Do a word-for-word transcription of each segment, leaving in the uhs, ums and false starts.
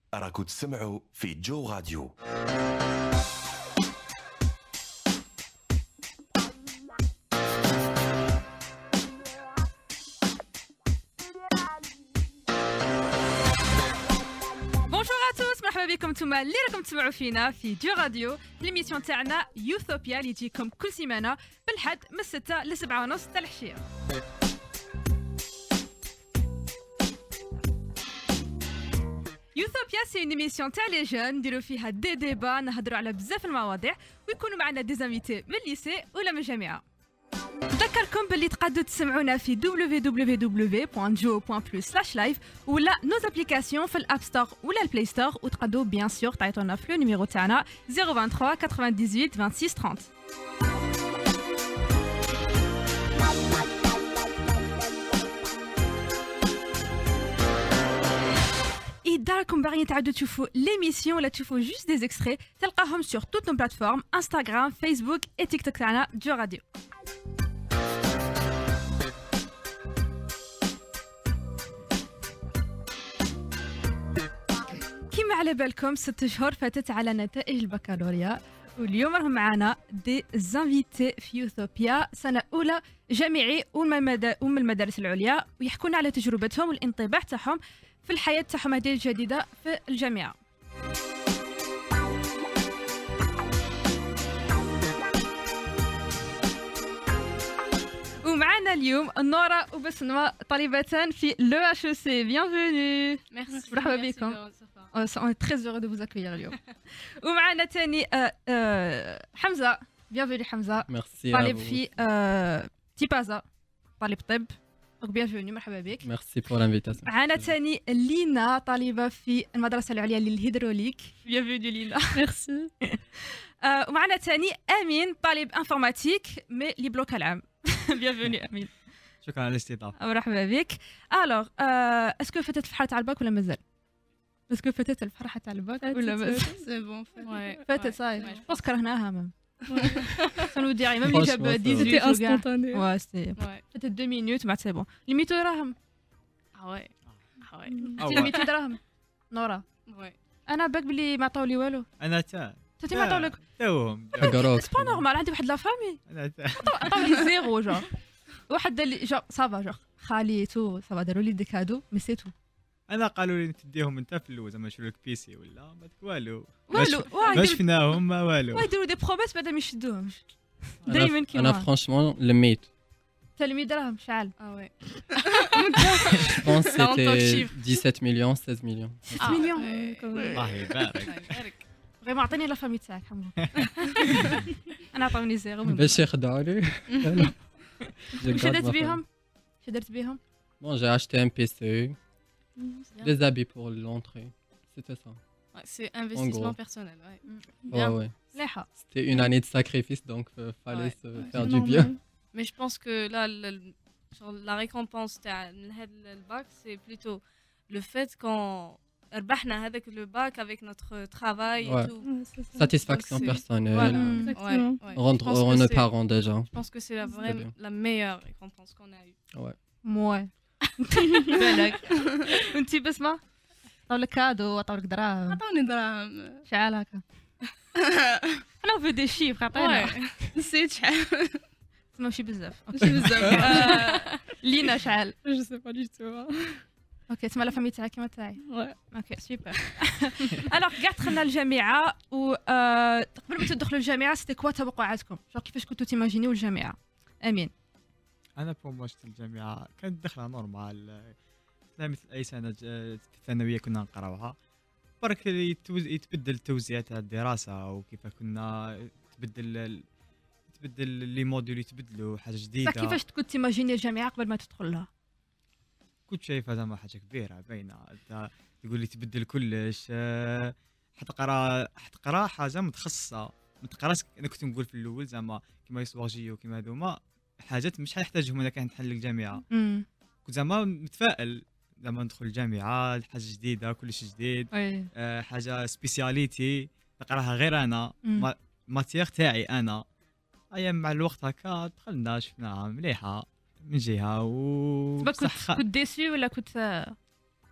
راكو تسمعوا في جو راديو. مرحبا بكم نتوما اللي راكم تسمعوا فينا في جو راديو. ليميسيون تاعنا يوثوبيا اللي تجيكم كل سيمانه بالحد من ستة ل سبعة ونص تاع العشيه. يوثوبيا سي اون ايميسيون تاع لي جون نديرو فيها دي ديبا، نهضروا على بزاف المواضيع ويكونوا معنا دي زانفيتي من الليسي ولا من الجامعه. نذكركم باللي تقدروا تسمعونا في دبليو دبليو دبليو دوت جو دوت بلس سلاش لايف ولا نوز ابليكاسيون في الاب ستور ولا البلاي ستور، وتقدروا بيان سور تعيطونا في لو نيميرو تاعنا صفر ثلاثة ثمانية ثمانية ثمانية ستة ثلاثين. إذا راكم باغيين تعاودوا تشوفوا ليميسيون ولا تشوفوا جوست دي اكستري تلقاهم sur toutes nos plateformes انستغرام فيسبوك et تيك توك تاعنا جو راديو. كيما على بالكم ست شهور فاتت على نتائج البكالوريا، واليوم راهم معنا دي زانفيتي في يوثوبيا سنة أولى جامعي ومن المدارس العليا، ويحكونا على تجربتهم والانطباع تاعهم في الحياة تاعهم هذه الجديدة في الجامعة. ومعنا اليوم نورا وبسمة طالبتان في لو اتش او سي. bienvenue. Merci. مرحبا بكم. On est très heureux de vous accueillir اليوم. ومعنا ثاني حمزة. bienvenue حمزة. Merci. طالب في تيبازا، طالب طب. bienvenue مرحبا بك. Merci pour l'invitation. معنا ثاني لينا طالبة في المدرسة العليا للهيدروليك. bienvenue لينا. Merci. ومعنا ثاني أمين طالب انفورماتيك مي لي بلوك العام. bienvenue أمين. شكرا على الاستضافه. مرحبا بك. الوغ اسكو فاتت الفرحة تاع الباك ولا مازال؟ اسكو فاتت الفرحة تاع الباك ولا مازال؟ سي بون فاتت صاي. بس كرهناها مام. سانو ديري ميم اللي جاب ديزيت انستانتاني. وا سي فاتت دو مينوت مع سي بون. ليميتو دراهم. اه وي اه وي انت ليميتو دراهم نورا. وي انا باك بلي ما عطاولي والو. انا تا انت ما عطاولك توهم. حقروك. سي با نورمال، عندي واحد لا فامي انا تا عطاولي زيرو جور. واحد اللي جور صافا جور خالي تو صافا داروا لي دي كادو مي سي تو. انا قالوا لي تديهم انت في اللوز زعما نشرو لك بيسي ولا ما داك والو. والو ما شفناهم ما والو. واي يديروا دي بروميس بعدا ما يشدوهمش دائما كيما. انا فرانشمون لميت. تلمي دراهم شحال؟ اه وي Je pense que c'était dix-sept millions, seize millions. ستة مليون. الله يبارك. غير ما عطيني لا فامي تاعك حمو. انا عطوني زيرو. باش يخدعوني. واش درت بيهم؟ واش درت بيهم؟ Bon, j'ai acheté un P C, des habits pour l'entrée. C'était ça. C'est investissement gros. personnel. Ouais, ouais. مليحة. C'était une année de sacrifice, donc euh, fallait Ouais, se ouais, faire c'est du bien. Mais je pense que là le- genre, la récompense تاع من هذا الباك c'est plutôt le fait qu'on ربحنا هذاك le bac avec notre travail et Ouais. tout. Satisfaction Donc, c'est- personnelle. Voilà, Mm. exactement. Ouais, ouais. Rendre Je pense heureux que nos c'est- parents déjà. Je pense que c'est la C'était vraie, bien. la meilleure récompense qu'on a eue. Ouais. موي. بالك. وانتي بسمة؟ عطاولك كادو عطاولك دراهم عطوني دراهم. شحال هكا؟ انا في دي شيفر عطينا. نسيت شحال. ماشي بزاف. ماشي بزاف. لينا شحال؟ Je sais pas du tout. اوكي تسمى لا فامي تاعك كيما تاعي. Ouais. اوكي سوبر. الوغ كاع دخلنا الجامعه و آه، قبل ما تدخلوا الجامعه سيتي كوا توقعاتكم؟ جو كيفاش كنتوا تيماجينيو الجامعه؟ امين. انا بور موا شفت الجامعه كانت دخله نورمال لا مثل اي سنه ج- في الثانويه كنا نقراوها. برك يتوز- يتبدل التوزيع تاع الدراسه وكيف كنا تبدل ال- تبدل لي موديول يتبدلوا حاجه جديده. صح كيفاش كنت تيماجيني الجامعه قبل ما تدخل لها؟ كنت شايفها زعما حاجه كبيره باينه. انت تقول لي تبدل كلش آه، حتقرا حتقرا حاجه متخصصه ما تقراش. انا كنت نقول في الاول زعما كيما يسواغ جيو كيما هذوما حاجات مش حنحتاجهم انا كان نحل الجامعه. امم كنت زعما متفائل زعما ندخل الجامعه حاجه جديده كلش جديد وي آه، حاجه سبيسياليتي نقراها غير انا مم. ما- ماتيغ تاعي انا. ايام مع الوقت هكا دخلنا شفناها مليحه من جهه و كنت بصح خ- كنت ديسي ولا كنت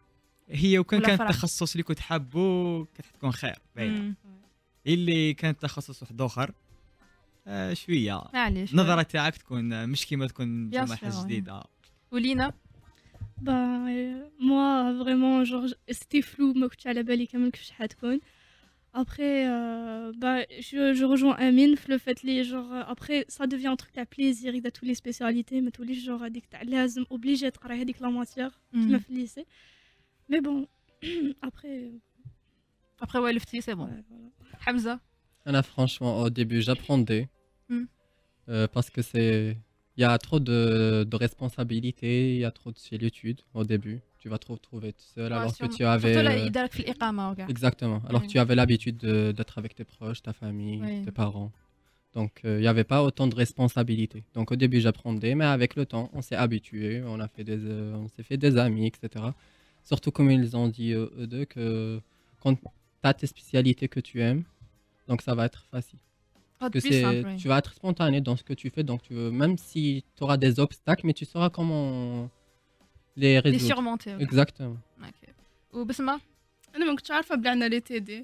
هي وكان ولا كان فرح. التخصص اللي كنت حابه كتكون خير باينه. مم. اللي كان تخصص واحد اخر آه شويه معليش النظره تاعك تكون مش كيما تكون Bien جامعه sûr, جديده. ولينا Bah, euh, moi, vraiment, genre, j- c'était flou, ما كنتش على بالي كامل كيفاش حتكون. Après, euh, bah, je, je rejoins Amine, le fait les genre, euh, après, ça devient un truc à plaisir, il a toutes les spécialités, mais tous les genres, هذيك تاع لازم obligé تقرا هذيك la matière, كيما في الليسي. Mais bon, après, ابخي والفتي سي بون. ouais, voilà. حمزه Anna, franchement, au début, j'apprendais. Hmm. Euh, parce que c'est. Il y a trop de, de responsabilités, il y a trop de solitude au début. Tu vas te retrouver tout seul alors que tu avais. surtout لا euh, يدارك في الاقامه وكاع. Exactement. Alors que Oui. tu avais l'habitude de- d'être avec tes proches, ta famille, Oui. tes parents. Donc, euh, il n'y avait pas autant de responsabilités. Donc, au début, j'apprendais, mais avec le temps, on s'est habitué, on, a fait des, euh, on s'est fait des amis, et cetera. Surtout, comme ils ont dit, euh, eux deux, que quand tu as tes spécialités que tu aimes, donc ça va être facile. Ah, Que plus c'est, simple, oui. tu vas être spontané dans ce que tu fais. Donc, tu veux, même si tu auras des obstacles, mais tu sauras comment les لي résoudre. سيرمونتي وكاع. Exactement. اوكي وبسمه انا ما كنتش عارفه بلي عندنا لي تي دي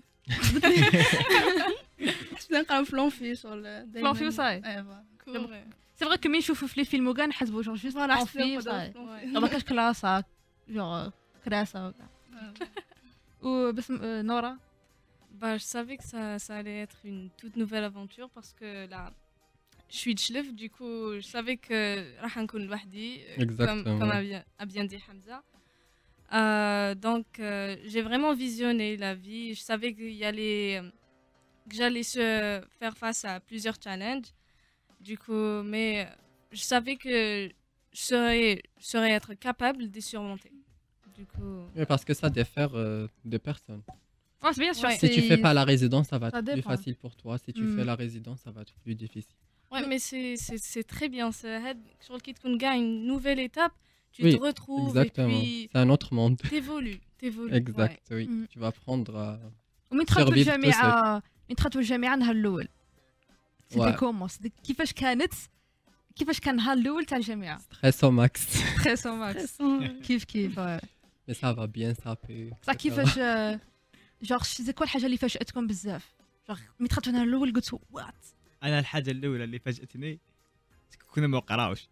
كنت نقرا في لونفي شغل دايما لونفي وصاي. ايوا سي فري كو مين نشوفو في لي فيلم وكاع نحسبو جونغ جوست فوالا اون في صاي ما كاش كلاسه جونغ كراسه وكاع. وبسم آه، نورا Bah, je savais que ça, ça allait être une toute nouvelle aventure parce que là, je suis de Chlef, du coup, je savais que راح نكون لوحدي, euh, comme, Exactement. comme a bien, a bien dit Hamza. Euh, donc, euh, j'ai vraiment visionné la vie. Je savais qu'il y allait, que j'allais se faire face à plusieurs challenges. Du coup, mais je savais que je serais, je serais être capable de les surmonter. Du coup, Oui, parce que ça diffère euh, des personnes. اه بيان سور Ouais. Si tu fais pas la résidence, ça va Ça être plus dépend. facile pour toi. Si tu Mm. fais la résidence, ça va être plus difficile. ouais, mais c'est- c'est c'est très bien. C'est sur le kit qu'on gagne une nouvelle étape, tu Oui, te retrouves Exactement. et puis C'est un autre monde. t'évolues, t'évolues. Exact, oui. Mm. Tu vas apprendre à... ومن دخلتوا survivre tout الجامعه من دخلتوا الجامعه النهار الاول سيتي Ouais. كومون كيفاش كانت كيفاش كان النهار الاول تاع الجامعه Stress au max. تري سو ماكس Stressant, كيف كيف آه. Mais ça va bien saper. صح et cetera. كيفاش آه، جونغ سي كوا الحاجه اللي فاجاتكم بزاف جونغ ملي دخلتوا النهار الاول قلت وات انا الحاجه الاولى اللي فاجاتني كنا ما نقراوش.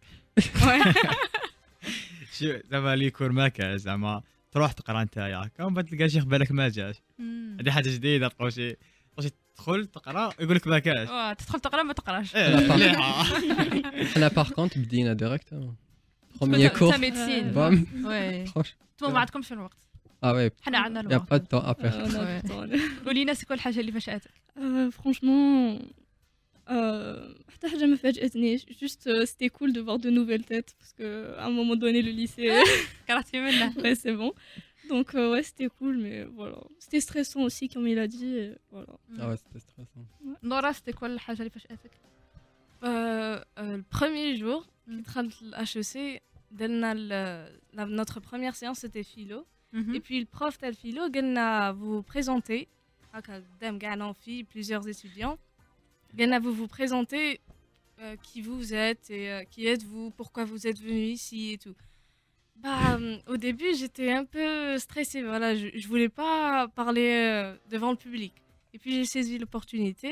شو زعما لي كور ما كان زعما تروح تقرا نتايا كون بعد تلقى شيخ بالك ما جاش. هذه حاجه جديده تلقاو شي شي تدخل تقرا يقول لك ما كاش. واه تدخل تقرا ما تقراش إيه، مليحه. Là, par contre, بدينا directement. Premier cours. تا ميديسين Bam. وي Franchement. انتم ما عندكمش الوقت Ah ouais, حنا عندنا il n'y a الوقت pas de temps à perdre. on a Ouais. du temps, là. ولينا سي كوا الحاجه اللي فاجاتك Euh, franchement, euh, حتى حاجة ما فاجأتنيش. Juste, euh, c'était cool de voir de nouvelles têtes parce que à un moment donné, le lycée, كرهتي منه ouais, c'est bon. Donc, euh, ouais, c'était cool, mais voilà. C'était stressant aussi, comme il a dit. Et voilà. Ah ouais, c'était stressant. نورا سي كوا الحاجه اللي فاجاتك Euh, euh, le premier jour, Mm. H E C, دلنا ال- la- notre première séance c'était philo. Et puis le prof tel philo, قالنا vous vous présentez, هكا قدام كاع l'amphi, plusieurs étudiants. قالنا vous vous présentez euh, qui vous êtes et euh, qui êtes-vous, pourquoi vous êtes venu ici et tout. Bah, euh, au début, j'étais un peu stressée, voilà, je, je voulais pas parler euh, devant le public. Et puis j'ai saisi l'opportunité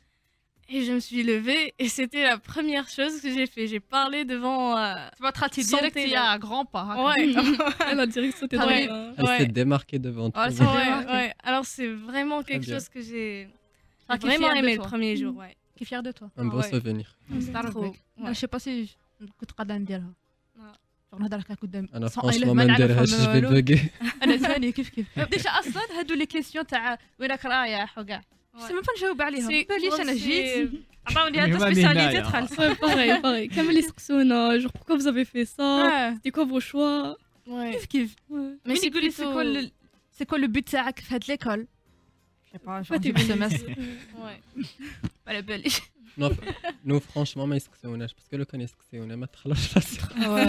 et je me suis levée et c'était la première chose que j'ai fait. J'ai parlé devant. euh, تبغى تخاطي Santé, ديريكت يا غران با هكا Ouais, La direction, c'était Ah dans oui. la- Elle Ouais. s'est démarquée devant tout Ouais, le c'est monde. vrai. ouais, démarqué. ouais. Alors c'est vraiment quelque bien. chose que j'ai Ah, j'ai qui est vraiment fière de aimé toi. le premier jour. Ouais. كي فيغ دو توا Un beau Ouais. souvenir. نستعرف Trop. بك انا Ouais. شي با سي كنت قادره نديرها آه. جونغ نهضر هكا قدام أنا sans- franchement إلا ما نعرف نديرهاش ما je vais والو. bugger. انا ثاني كيف كيف ديجا اصلا هادو لي كيسيون تاع وينك رايح وكاع Ouais. سي ما نجاوب عليهم C'est- باليش انا c'est- جيت عطاوني Mais هاد ما سبيسياليتي نهاية. دخلت Ouais, pareil, pareil. Comme les Saxona, genre pourquoi vous avez fait ça? آه، C'était quoi vos choix? Ouais. كيف كيف Ouais. Mais مين c'est يقول لي سي plutôt- كوا ال- سي كوا لو بوت تاعك في هاد ليكول جو با Pourquoi t'es جونغ venu سمستر ici? Ouais. على باليش Non, nous franchement ما يسقسوناش باسكو لو كان يسقسيونا ما تخلوش راسك.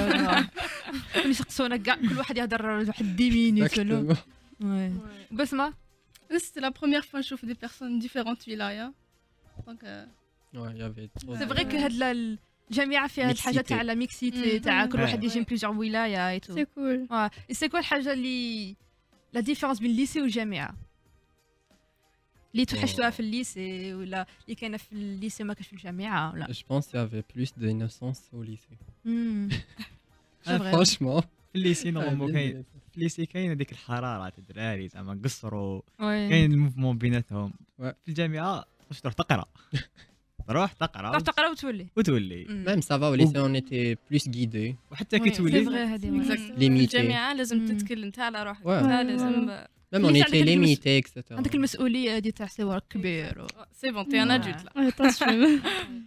ملي يسقسونا كاع كل واحد يهضر واحد دي مينوت ولا Exactement. وي Ouais. بسمه Là, c'était la première fois que je chauffe des personnes différentes wilaya. Donc, euh, Ouais, il y avait trop سي de- فري كو هاد ال- الجامعه فيها هاد الحاجه Mixité. تاع لا ميكسيتي Mm. تاع كل Mm. واحد يجي من Ouais. بليزيور ولايه اي تو C'est cool. Ouais. Et c'est quoi الحاجة اللي لا ديفيرونس بين الليسي والجامعه اللي توحشتوها في الليسي ولا اللي كاينه في الليسي ما كاش في الجامعه ولا Je pense qu'il y avait plus d'innocence au lycée. امم آه، Franchement. في الليسي Ah, نورمالمون bien كاين dit. في الليسي كاين هذيك الحراره تاع الدراري زعما قصروا وي كاين الموفمون بيناتهم Ouais. في الجامعه واش تروح تقرا تروح تقرا تروح تقرا وتولي وتولي Même ça va, au lycée, on était plus guidés. وحتى كي وي، سي تولي فغي هذه مم. وي. في Limité. الجامعه لازم مم. تتكل انت على روحك Ouais. انت Ouais, لازم Même on ليس était عندك المس- limité, et cetera. عندك المسؤوليه هذه تاع سوار كبير و... سي بون تي ان Ouais. ادولت لا Ouais, attention.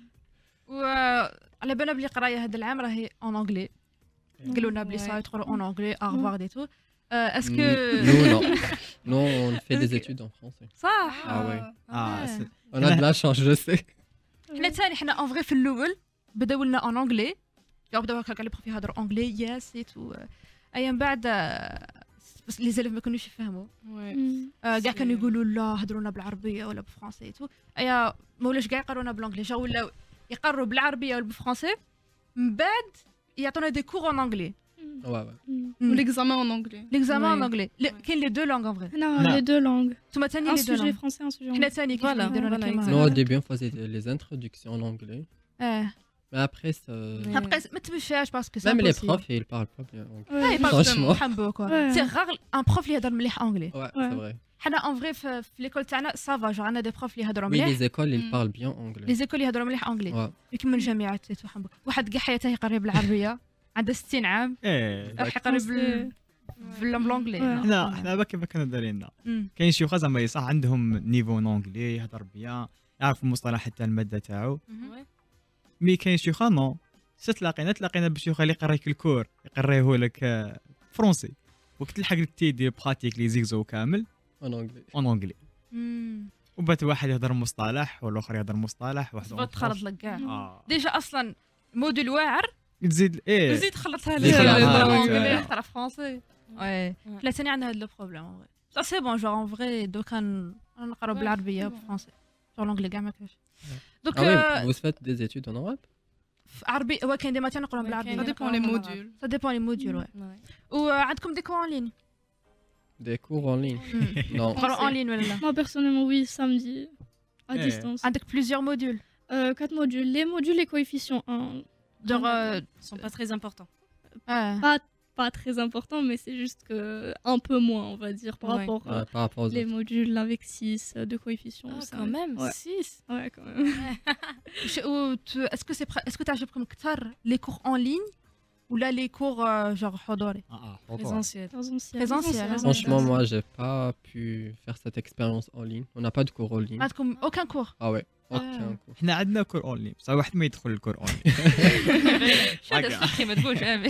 وعلى بالنا بلي قرايه هذا العام راهي اون انجلي قالوا لنا بلي Ouais. صا يدخلوا اون انجلي اغفوار دي تو اسكو Mm, Nous, non. Nous, on fait des études en français. صح Ah ouais. اه س- On a de la chance, je sais. حنا ثاني حنا اون فغي في الاول بداو لنا اون انجلي كاع بداو هكا كاع لي بروف يهضروا انجلي ياس اي تو ايا من بعد آه، بس لي زيليف ما كانوش يفهموا Mm. آه، كاع سي- كانوا يقولوا لا هضروا لنا بالعربيه ولا بالفرنسي اي تو ايا ما ولاش كاع يقرونا بالانجلي جا ولاو يقروا بالعربيه ولا بالفرنسي من بعد يعطونا دي كور اون انجلي Ouais, ouais. Mm. l'examen en anglais ليكزامان اون Ouais. انجلي كاين لي دو لونغ ان فغي Non, Non. les deux langues. نتوما ثاني Un لي دو sujet لونغ français, un sujet حنا anglais. ثاني كيف Voilà, يديروا لنا voilà, كيما exactement. Nous, au هذا. début, on faisait des- les introductions en anglais. اه Mais après, ça... Ouais. ابقى ما تمشاش باسكو même les profs, ils parlent pas bien anglais. Ouais. Franchement. حنبو كوا Ouais. سي غار ان بروف اللي يهضر مليح انجلي Ouais, Ouais. c'est vrai. حنا اون فغي في في ليكول تاعنا سافا جو عندنا دي بروف اللي يهضروا Oui, مليح les écoles, ils Mm. parlent bien anglais. لي زيكول يهضروا مليح انجلي Ouais. لكن من الجامعات تيتو حنبو واحد كاع حياته يقري بالعربيه عنده ستين عام ايه راح يقري Français. بال بالانجلي Ouais. حنا حنا باك كيف كانوا دايرين أمم. كاين شي وخا زعما صح عندهم نيفو نونغلي يهضر بيان يعرف المصطلحات تاع الماده تاعو مي كاين شي وخا نو سي تلاقينا تلاقينا بشي وخا اللي يقريك الكور يقريه لك آه، فرونسي وقت تلحق تيدي براتيك لي زيكزو كامل En anglais. اون اونغلي أمم. وبات واحد يهضر مصطلح والاخر يهضر مصطلح واحد تبغى تخلط لك كاع اه ديجا اصلا موديل واعر تزيد ايه وزيد خلطها زيد خلطها لك لك. انجلي آه. يهضر فرونسي وي حنا ثاني عندنا هذا لو بروبليم صا سي بون جو اون فغي دوكا نقراو Ouais, بالعربيه c'est bon. وبالفرنسي جو لونجلي كاع ما كاش دوك Ah oui, vous faites des études en arabe? في عربي هو كاين دي ماتير نقراو Ouais, بالعربيه ça dépend les modules. سا ديبون لي موديول وي وعندكم دي كور ان لين Des cours en ligne? Non. نقراو ان لين ولا لا Moi, personnellement, oui, samedi, à Eh. distance. عندك بليزيور موديول Euh, quatre modules. Les modules, les coefficients un. دونك sont pas très importants. اه Pas, pas très important, mais c'est juste que un peu moins, on va dire, par Ouais. rapport Ouais, à par rapport aux les autres. modules avec six de coefficients. Ah, ça. quand même, Ouais. six. Ouais, quand même. اسكو سي اسكو تعجبكم اكثر لي كور ان لين ولا لي كور جور حضوري اه اه Présentiel. Présentiel. Présentiel, hein. Franchement, moi, j'ai pas pu faire cette expérience en ligne. On n'a pas de cours en ligne. عندكم اوكان كور Ah ouais, aucun Ah. cours. حنا عندنا كور اونلي بصح واحد ما يدخل الكور اونلي شو هذا السخي ما تقولش امي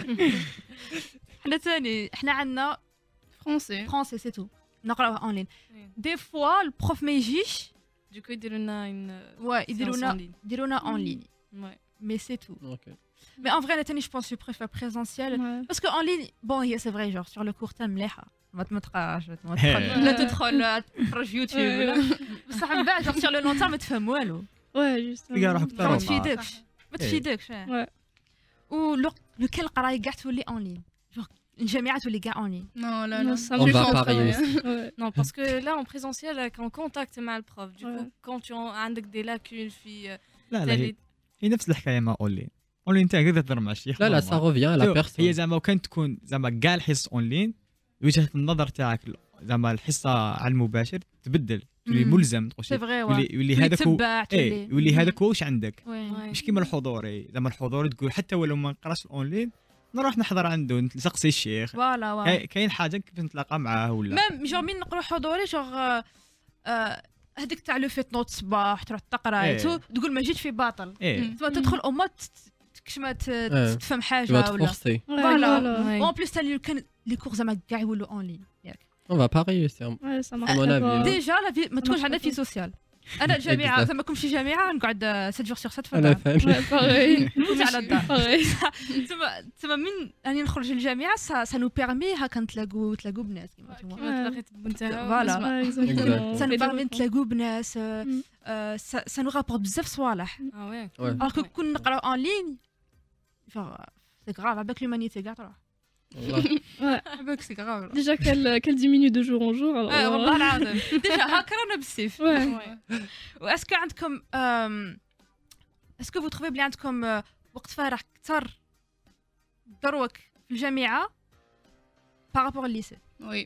حنا ثاني حنا عندنا Français. فرونسي سي تو نقراوها اون لين Oui. دي فوا البروف ما يجيش Du coup, ils donnent une. ouais séance يديرونا en ligne. يديرونا اون لين Ouais. مي سي تو Ok. مي ان فغي انا ثاني جو بونس جو بريفير بريزونسيال Ouais. باسكو اون لين بون هي سي فري جور سور لو كور تاع مليحه ما ما تقراش ما تدخل لا تدخل تفرج في يوتيوب ولا بصح من بعد سور لو لون تيرم ما تفهم والو Ouais, justement. تلقى روحك ما تروح تفيدكش ما تفيدكش Ouais. و لو لو كان القرايه كاع تولي اون لين جور الجامعه تولي كاع اون لين Non, là, Non, là. ça On me va fait parier pas, aussi. ouais. Non, parce que là, en présentiel, avec en contact مع le prof. Du Ouais. coup, quand tu as des lacunes, في لا لا هي, telle هي نفس الحكايه مع اونلاين اونلاين انت تقدر تهضر مع الشيخ Là, là, ça revient à la شوف، هي personne. زعما كان تكون زعما كاع الحصص اونلاين وجهه النظر تاعك زعما الحصه على المباشر تبدل تولي مم. ملزم تقول سي شي فغي يولي يولي هذاك هو تبع ايه يولي هذاك هو واش عندك وي Ouais. مش كيما الحضوري زعما الحضوري تقول حتى ولو ما نقراش الاونلاين نروح نحضر عنده نسقسي الشيخ فوالا فوالا كاي- كاين حاجه كيف نتلاقى معاه ولا ميم جور مين نقرو حضوري جور هذيك تاع لو فيت نوت صباح تروح تقرا إيه. تو تقول ما جيت في باطل ايه مم. تما تدخل او ما كشما إيه. تفهم Tu vas حاجه te ولا forcer. Ouais, Voilà. voilà. Ouais. وان بليس تاع كان لي كور زعما كاع يولوا اون لين ياك On va pas réussir. Ouais, ça marche À mon pas. avis, hein. ديجا لا في ما تكونش عندنا في سوسيال انا الجامعه Exact. زعما كون شي جامعه نقعد سبعة جور سور سبعة في À la الدار fin. Ouais, pareil. نموت على الدار Pareil. تما تما من راني نخرج للجامعه سا سا نو بيرمي هكا نتلاقوا نتلاقوا بناس كيما نتوما كيما تلاقيت بنتها Voilà. Ouais, exactement. سا On نو fait des بيرمي rencontres. نتلاقوا بناس مم. سا نو رابورت بزاف صوالح Ah ouais. Ouais. الوغ كون نقراو اون لين سي غراف عباك لومانيتي كاع تروح والله عباك سي غراف Déjà qu'elle qu'elle diminue de jour en jour. Alors, اه euh, والله العظيم ديجا هاكا رانا بالسيف ouais. واسكو عندكم اسكو فو تروفي بلي عندكم آه، وقت فراغ كثر دروك في الجامعه بارابور الليسي Oui.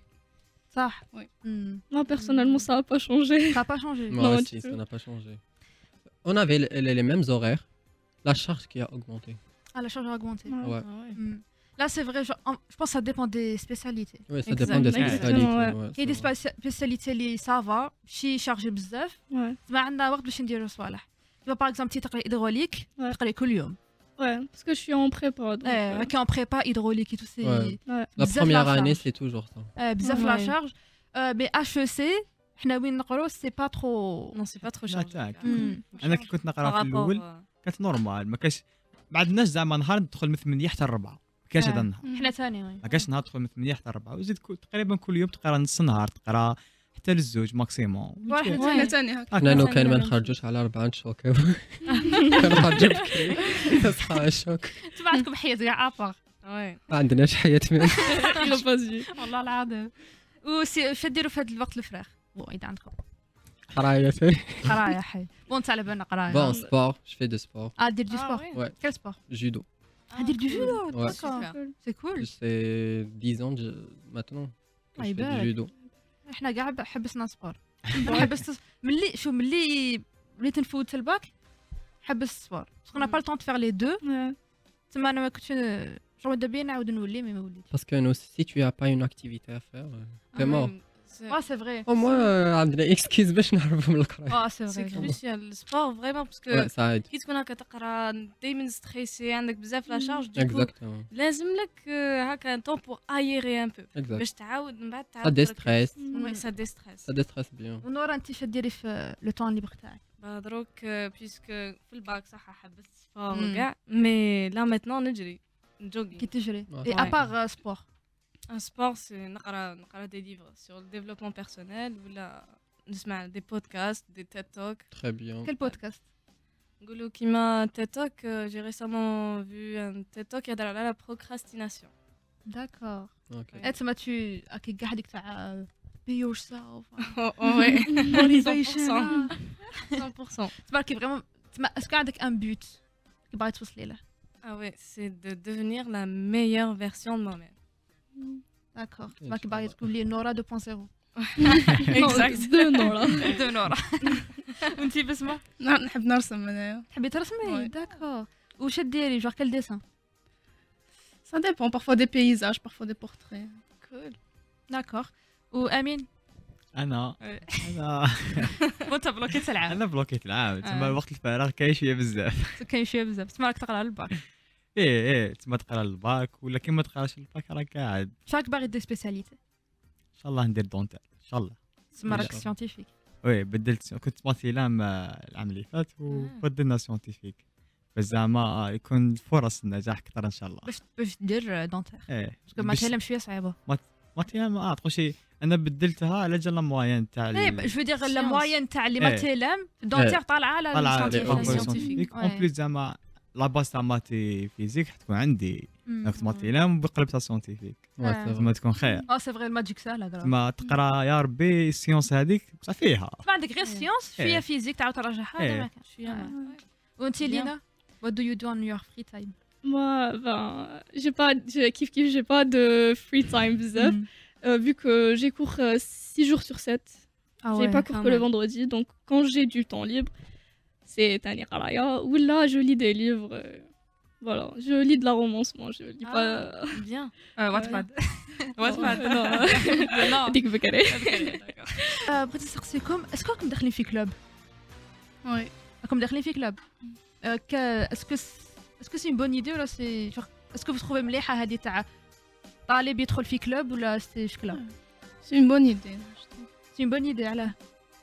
صح وي. امم Moi, personnellement, ça n'a pas changé. ça pas changé Moi Non, aussi, du ça tout. n'a pas changé. On avait les, les- les mêmes horaires, la charge qui a augmenté. ah la charge a augmenté Ouais. Ouais. Ah ouais. Hmm. Là, c'est vrai, genre, en- je pense que ça dépend des spécialités. Oui, ça Exact. dépend des Exactement, spécialités. ouais. ouais, Il y a des c'est vrai. spéci- spécialités qui ça va, شي chargé بزاف Ouais. ما عندنا وقت باش نديرو صوالح. Tu vois par exemple تي تقرا hydraulique Ouais. تقرا كل يوم. Ouais, parce que je suis en prépa. Donc, Eh, euh, qui en prépa hydraulique et tout c'est Ouais. ouais. La بزاف première la année, charge. c'est toujours ça. Eh, بزاف la Ouais. charge. Euh, mais H E C حنا وين نقرو c'est pas trop. Non, c'est pas trop لا chargé. تاعك. Hmm. انا كي كنت نقرا Par في الاول rapport, euh, كانت نورمال ما كاش ما عندناش زعما نهار ندخل من ثمانية حتى الربعة ما كاش هذا آه. النهار حنا ثاني وي. ما كاش نهار تدخل من ثمانية حتى الربعة وزيد كل- تقريبا كل يوم تقرا نص نهار تقرا حتى للزوج ماكسيموم واحد حنا ثاني. تاني هكا. احنا لو ثاني كان ما نفس نخرجوش على أربعة نشوكو كنخرجوا بكري نصحى الشوك انتم عندكم حياة كاع ابار. ouais. ما عندناش حياة من Il a pas dit. والله العظيم. وسي شو ديروا في هذا الوقت الفراغ؟ بون اذا عندكم قراية. قرايه حي بون انت على بالنا قرايه. Bon, sport, je fais du sport, اه دير دي Ah سبور. ouais. ouais, كيل سبور؟ judo. Ah, دير دو جودو. Ouais. Super. سي كول. C'est dix ans de- maintenant que Ah, je fais يبارك. du judo. احنا كاع حبسنا سبور. حبست ملي شو ملي وليت نفوت في الباك حبست سبور. باسكو نا با لو طون دو فير لي دو. Ouais. تما انا ما كنتش جو مادا بيا نعاود نولي مي ما وليتش. Parce que nous, si tu n'as pas une activité à faire, euh, t'es Ah mort. ouais, c'est- اه سي فري. Au moins, euh, عندنا اكسكيز باش نهربوا من القراية. اه سي C'est فري. crucial. Le sport, vraiment, parce Ouais, que ça aide. كي تكون هكا تقرا دايما ستريسي عندك بزاف لا شارج ديكو Exactement. لازم لك آه، هكا طون بور ايري ان بو Exact. باش تعاود من بعد Ça تعاود déstresse. وي سا ديستريس Ça déstresse bien. ونورا انت شو ديري في لو طون ليبر تاعك؟ دروك بيسك في الباك صح حبست سبور مم. وكاع مي لا ميتنون نجري كي نجوغي تجري. Ouais. اي ابار سبور. ان سبور سي نقرا نقرا دي ليفر سور الديفلوبمون بيرسونيل ولا نسمع دي بودكاست دي تيد توك Très bien. كل بودكاست؟ نقولوا كيما تيد توك جي ريسامون فيو ان تيد توك يهضر على لا بروكراستيناسيون داكور. Ok. اي تما تو كي كاع هذيك تاع بي يور سيلف. وي موتيفيشن. مية بالمية تما كي فريمون تما اسكو عندك ان بوت كي باغي توصلي له؟ Ah ouais, c'est de devenir la meilleure version de moi-même. داكور. تما كي باغي تكون لي نورا دو بوان زيرو. Exact. Deux noms là. دو نورا. وانتي بسمة نعم نحب نرسم انايا. تحبي ترسمي؟ وي. داكور. واش ديري جوغ كال ديسان؟ Ça dépend, parfois des paysages, parfois des portraits. Cool. داكور. وامين انا إيه. انا وانت بلوكيت العام. انا بلوكيت العام تما آه. الوقت الفراغ كاين شويه بزاف كاين شويه بزاف تما راك تقرا الباك. ايه ايه تما تقرا الباك ولا كي ما تقراش الباك راك قاعد شاك باغي دير سبيسياليتي؟ ان شاء الله ندير دونتال ان شاء الله تما راك إن شاء الله. سيونتيفيك. وي بدلت كنت ماتيلام العام اللي فات وبدلنا سيونتيفيك بس زعما يكون فرص النجاح اكثر ان شاء الله باش باش دير دونتير ايه باسكو ما تعلم شويه صعيبه. ماتيلام اه تقول شي انا بدلتها على جال موين تاع اي جو دير لا science. موين تاع اللي إيه. ما تيلم دونتير طالعه على طالعه السيونتيفيك. سيونتيفيك اون Ouais. بليس زعما لا باس تاع ماتي فيزيك حتكون عندي كنت ماتيلام بقلبتها سيونتيفيك Ouais, آه. c'est vrai. تما تكون خير اه سي فري الماجيك ساهله كرا. تما تقرا يا ربي السيونس هذيك بصح فيها ما عندك غير سيونس شويه إيه. فيزيك تعاود تراجعها هذا إيه. ما كان. شويه ما- وانت Bien. لينا what do you do on your free time? Moi, ben, j'ai pas, j'ai kiff kiff, j'ai pas de free time bzaf, euh, vu que j'ai cours six jours sur sept. Ah j'ai ouais, pas cours quand que le même. vendredi, donc quand j'ai du temps libre, c'est Tani Qaraya, ou là je lis des livres. euh, Voilà, je lis de la romance, moi, je lis Ah. pas. Bien. واتباد. Non, واتباد. non. non Dik Bekare. بغيت نسقسيكم اسكو راكم داخلين في كلوب؟ Oui. راكم داخلين في كلوب اسكو اسكو سي بون ايدي ولا سي اسكو تخوفي مليحه هذه تاع طالب يدخل في كلوب ولا سي شكلها؟ C'est une bonne idée. je trouve. سي بون ايدي علاه؟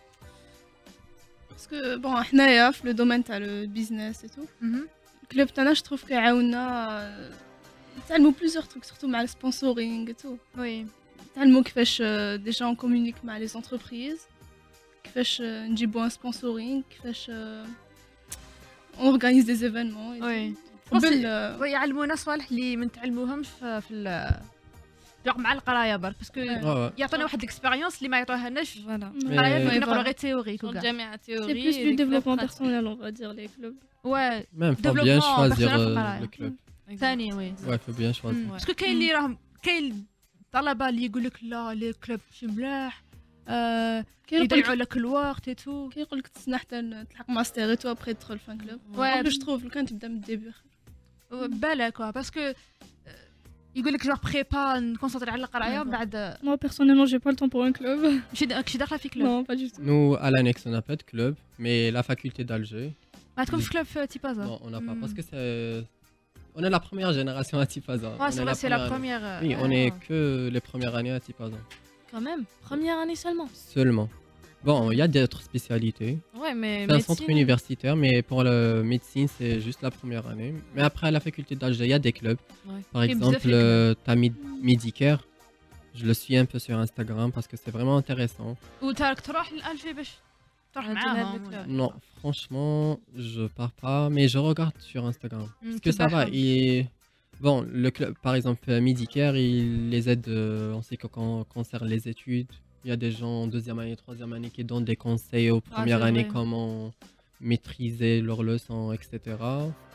Parce que bon, حنايا في le domaine تاع le business et tout. الكلوب تاعنا je trouve كيعاوننا نتعلموا plusieurs trucs surtout مع السبونسورينغ et tout. وي نتعلموا كيفاش آه، déjà on communique مع les entreprises كيفاش آه، نجيبوا un sponsoring كيفاش آه، on organise des événements et وي tout. قبل ويعلمونا صوالح اللي ما نتعلموهمش في في ال- جوغ مع القرايه برك باسكو آه. يعطونا واحد الاكسبيريونس اللي ما يعطوهالناش فوالا القرايه Mais- كنا نقراو غير تيوريك Dans وكاع الجامعة C'est théorie. plus et du les clubs développement pratiques. personnel, on va dire, les clubs. و Même, faut bien Développement choisir personnel euh, في القراية. le club. ثاني وي Ouais, faut bien choisir. باسكو كاين اللي راهم كاين الطلبه اللي يقول لك لا لي كلوب ماشي ملاح آه، يضيعوا لك الوقت et tout كيقول لك تسنى حتى تلحق ماستر تو ابخي تدخل فان كلوب Ouais. جو تروف لو كان تبدا من الديبي بالك كوا باسكو يقول لك جوغ بريبا نكونسونطري على القرايه ومن بعد Moi, personnellement, j'ai pas le temps pour un club. ماشي ماشي داخله في كلوب Non, pas du tout. Nous, à l'annexe, on n'a pas de club, mais la faculté d'Alger, ما تكون في كلوب في تيبازا non, on n'a pas. Hmm. Parce que c'est. On est la première génération à Tipaza. Ouais, On c'est est vrai, c'est la année. première. euh, Oui, on euh, est que les premières années à Tipaza. Quand même, première année seulement. Seulement. Bon, il y a d'autres spécialités. Ouais, mais C'est un centre médecine, universitaire, mais pour la médecine, c'est juste la première année. Mais après, à la faculté d'Alger, il y a des clubs. Ouais. Par Et vous exemple, avez fait euh, t'as Mid- Medicare. Je le suis un peu sur Instagram parce que c'est vraiment intéressant. وتارك تروح لالجي باش تروح Ah, معاهم tu l'as Non, franchement, je pars pas, mais je regarde sur Instagram. Parce que ça va. Il... Bon, le club, par exemple, euh, Medicare, il les aide euh, en ce qui con- concerne les études. Il y a des gens en deuxième année, troisième année qui donnent des conseils aux premières c'est années, vrai. comment maîtriser leurs leçons, et cetera.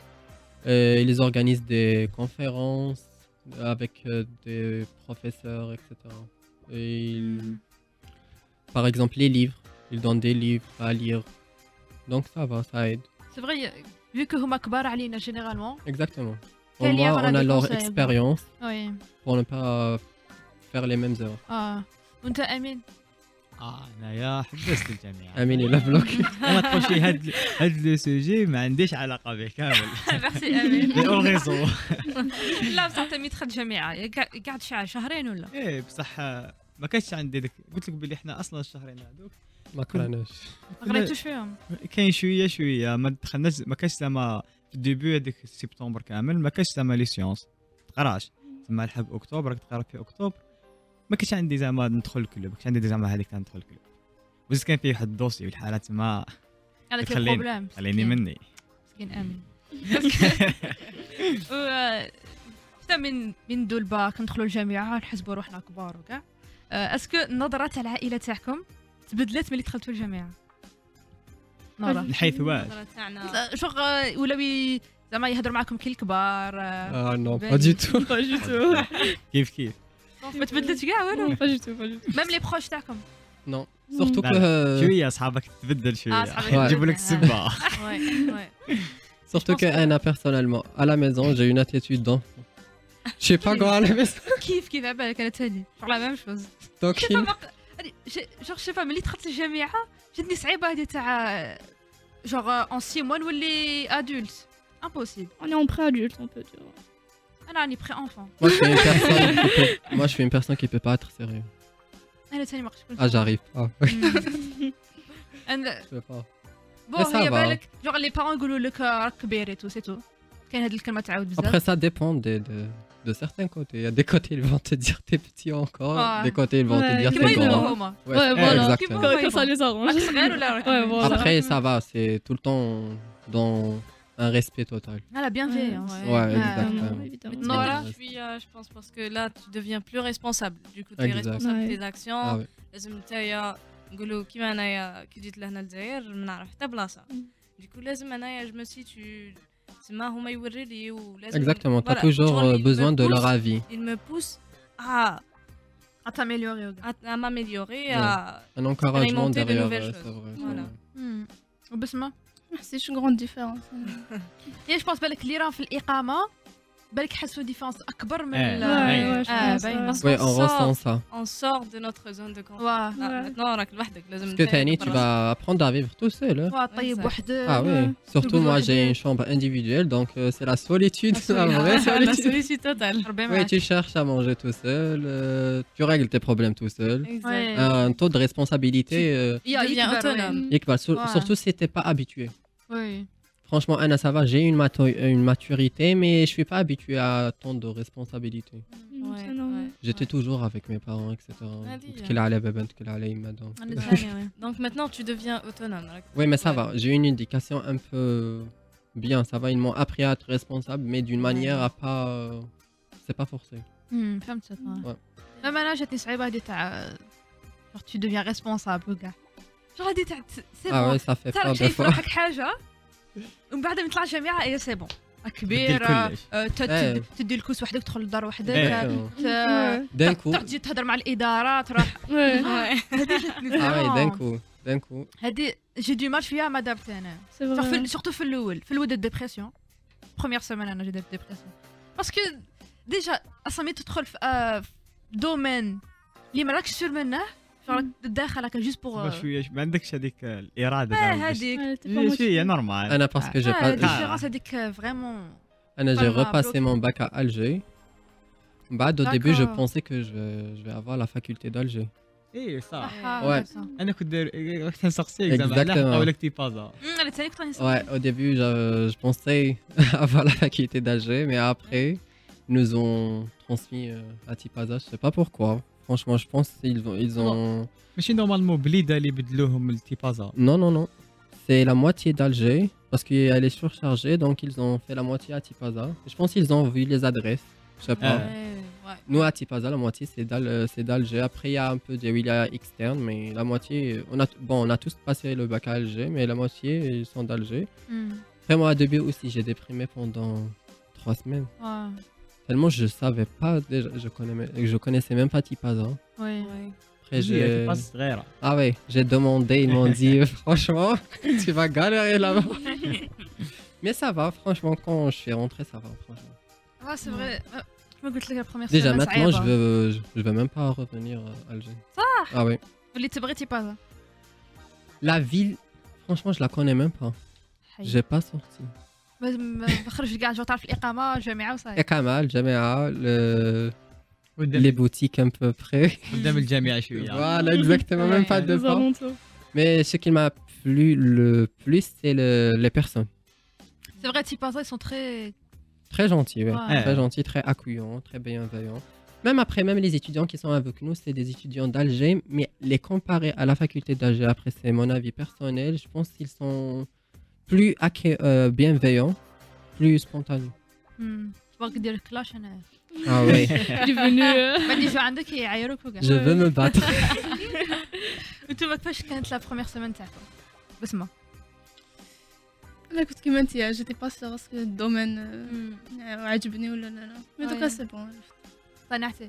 Euh, ils organisent des conférences avec euh, des professeurs, et cetera. Et ils- Par exemple, les livres. Ils donnent des livres à lire. Donc ça va, ça aide. سي فري فيو كو هما كبار علينا جينيرالمون Exactement. Au Quel lien moins, on a on a des leur conseils, expérience وي pour ne pas faire les mêmes erreurs. اه وانت امين اه انايا حبست الجامعه Amine, il a bloqué. ما تقول شي هاد هاد لو سوجي ما عنديش علاقه به كامل ميرسي امين مي اون ريزون لا بصح انت مي دخلت جامعه قاعد شهر شهرين ولا ايه بصح ما كانش عندي داك قلت لك بلي احنا اصلا الشهرين هذوك ما قراناش. ما قريتوش فيهم كاين شويه شويه ما دخلناش ما كانش زعما في الديبي هذيك سبتمبر كامل ما كانش زعما لي سيونس تقراش تما الحق اكتوبر راك تقرا في اكتوبر ما كانش عندي زعما ندخل الكلوب ما كانش عندي زعما هذيك تاع ندخل الكلوب وزيد كان فيه واحد الدوسي والحالات ما هذاك خليني- البروبليم خليني مني مسكين امين و- حتى من من دو الباك ندخلوا الجامعه نحسبوا روحنا كبار وكاع آه، اسكو النظره تاع العائله تاعكم تبدلت ملي دخلتوا الجامعه نورا من حيث واش النظرة تاعنا شغل ولاو ي- زعما يهضروا معكم كي الكبار آه، Ah non, Ben, pas du tout. Pas du tout. كيف كيف ما تبدلتش كاع والو Non, pas du tout, pas du tout. ميم لي بروش تاعكم Non. Surtout لا، que, شويه اصحابك تبدل آه، شويه صحابك يجيبوا لك تبدل. السبه Ouais, ouais. surtout que Anna, personnellement, à la maison, j'ai une attitude d'enfant. Je sais pas quoi à la maison. كيف كيف على بالك انا تاني شغل لا ميم شوز Donc, شي il- فما جوغ شي ملي دخلت الجامعه جاتني صعيبه هذه تاع جوغ اون سي موا نولي ادولت امبوسيبل On est en pré-adulte, on peut dire. انا راني بري انفون moi, je suis une personne qui peut... moi, je suis une personne qui peut pas être sérieux. انا تاني ما قدرتش Ah, j'arrive pas. ان Je peux pas. بون Mais ça هي va. بالك جوغ لي بارون يقولوا لك راك كبير اي تو سي تو كاين هذه الكلمه تعاود Après, بزاف ça dépend de, de, de certains côtés. Il y a des côtés, ils vont te dire t'es petit encore. Ouais. Des côtés, ils vont te Ouais, dire كيما t'es يقولوا grand. هما Ouais, Ouais, voilà. exactement. Comment- Quand, quand ça les arrange. راك صغير ولا راك Ouais, voilà. Après, ça va, c'est tout le temps dans un respect total. لا بيانفيونس Ouais, Ah, exactement. non, évidemment. Non, Maintenant, là. je suis, euh, je pense, parce que là, tu deviens plus responsable. Du coup, tu es Exact. responsable de Ouais. tes actions. Ah ouais. لازم نتايا نقولوا كيما انايا كي جيت لهنا الجزائر ما نعرف حتى بلاصه. Du coup, لازم انايا je me situe تما هما يوري لي ولازم Exactement, tu as Voilà, toujours genre, euh, il me besoin de leur pousse. avis. Il me pousse à, اتاميليوري à, à m'améliorer, Ouais. à... Un encouragement Expérimenter de derrière, nouvelles ouais, choses. c'est vrai. c'est Voilà. vrai. وبسمه C'est une grande différence. يا جو بونس بالك اللي راهم في الاقامه بالك حسوا ديفونس اكبر من إيه. ال- أيوة. Ouais, ouais, je آه، pense, باين. ouais. Ouais, on sort. ressent ça. on sort de notre zone de confort. واه Ah, maintenant, راك لوحدك لازم Parce que نتايا Tani, tu برا. vas apprendre à vivre tout seul. hein. واه طيب Exact. وحدك Ah oui, surtout moi j'ai Toujours une chambre individuelle, donc euh, c'est la solitude, La la vraie solitude. La solitude. solitude totale. ربي Oui, معاك tu cherches à manger tout seul, euh, tu règles tes problèmes tout seul. Exact. Ouais. Un taux de responsabilité euh, يا deviens يكبر، autonome. وي. équivalent, sur- Ouais. surtout si t'es pas habitué. وي Franchement, Anna, ça va, j'ai une, mato- une maturité, mais je suis pas habitué à tant de responsabilités. Mm, Ouais, c'est normal. ouais. J'étais toujours avec mes parents, et cetera. Ah, dis, Qu'il allait, bébé, qu'il allait, il m'a donc. انا Ouais. ثاني وي Donc maintenant, tu deviens autonome. راك- Oui, mais ça Ouais. va, j'ai une éducation un peu bien, ça va, ils m'ont appris à être responsable, mais d'une manière à pas. euh, C'est pas forcé. امم فهمتك Ouais. اما انا جاتني صعيبه هذه تاع جو tu deviens responsable وكاع جو هذه تاع سي Ah بون ouais, ça fait peur تعرف des شايف fois. روحك حاجه ومن بعد من تطلع الجامعه اي سي بون كبيره كلش. آه، ت- إيه. تد- تدي الكوس وحدك تدخل للدار وحدك إيه. Exactement. ت- D'un coup. تروح تجي تهضر مع الاداره تروح Ouais, هذه جاتني Ah ouais, d'un vraiment. coup. D'un coup. هذه جي دو مال فيها ما دابت انا c'est vrai. سورتو في الاول في الاول ديبرسيون بروميير سيمين انا جات ديبرسيون باسكو ديجا اصلا ملي تدخل في آه، في دومين اللي ما راكش سور منه راك داخل هكا جوست بوغ شويه ما عندكش هذيك الاراده اه زعما باش- هذيك Ouais, t'es pas شويه motivé. نورمال Anna, parce que j'ai اه pas. ديفيرونس هذيك فريمون Anna, j'ai Pas ma repassé bloc. mon bac à Alger. Bah, au début, je D'accord. pensais que je vais, je vais avoir la faculté d'Alger. اي صح Ouais. انا كنت داير كنت نسقسيك زعما على Exactement. حقا لك تيبازا انا ثاني كنت Ouais, غنسمع au début, je, je pensais avoir la faculté d'Alger, mais après, ils nous ont transmis euh, à Tipaza. Je sais pas pourquoi. Franchement, je pense qu'ils ont, ils ont. ماشي نورمالمون بليده اللي بدلوهم للتيبازا Non, non, non. C'est la moitié d'Alger parce qu'elle est surchargée, donc ils ont fait la moitié à Tipaza. Je pense qu'ils ont vu les adresses. Je sais pas. Ah. Nous, à Tipaza, la moitié, c'est d'Al- euh, c'est d'Alger. Après, il y a un peu de wilaya externe, mais la moitié, on a, bon, on a tous passé le bac à Alger, mais la moitié, ils sont d'Alger. Après, moi, au début aussi, j'ai déprimé pendant trois semaines. Tellement je savais pas, déjà, je, connais, je connaissais même pas Tipaza. وي Après, j'ai... تيبازا صغيره Ah ouais, j'ai demandé, ils m'ont dit, franchement, tu vas galérer là-bas. Mais ça va, franchement, quand je suis rentré, ça va, franchement. اه سي فري كما قلت لك البروميير Déjà, سيمين maintenant, je صعيبه veux, je, je veux même pas revenir à Alger. صح Ah oui. اللي تبغي تيبازا La ville, franchement, je la connais même pas. J'ai pas sorti. بخرج كاع جو تعرف الاقامه الجامعه Et وصاي Kamal, Jamia, le... les قدام boutiques un peu près. قدام الجامعه شويه Voilà, exactement, même pas Ouais, deux Les pas. alentours. Mais ce qui m'a plu le plus, c'est le... les personnes. سي فري تيبازا ils sont très Très gentils, ouais. Ouais. Très gentils, très accueillants, très bienveillants. Même après, même les étudiants qui sont avec nous, c'est des étudiants d'Alger, mais les comparer à la faculté d'Alger, après, c'est mon avis personnel, je pense qu'ils sont plus accueil- euh, bienveillants, plus spontanés. تبغى دير كلاش انا Ah oui, Il est venu. euh, بعد يجوا عندك يعايروك وكاع je veux me battre. انتوما كيفاش كانت لا بروميير سيمين تاعكم بسمه انا كنت كيما انت جيتي با سيغ اسكو الدومين عجبني ولا لا لا مي دوكا أي. سي بون قنعتي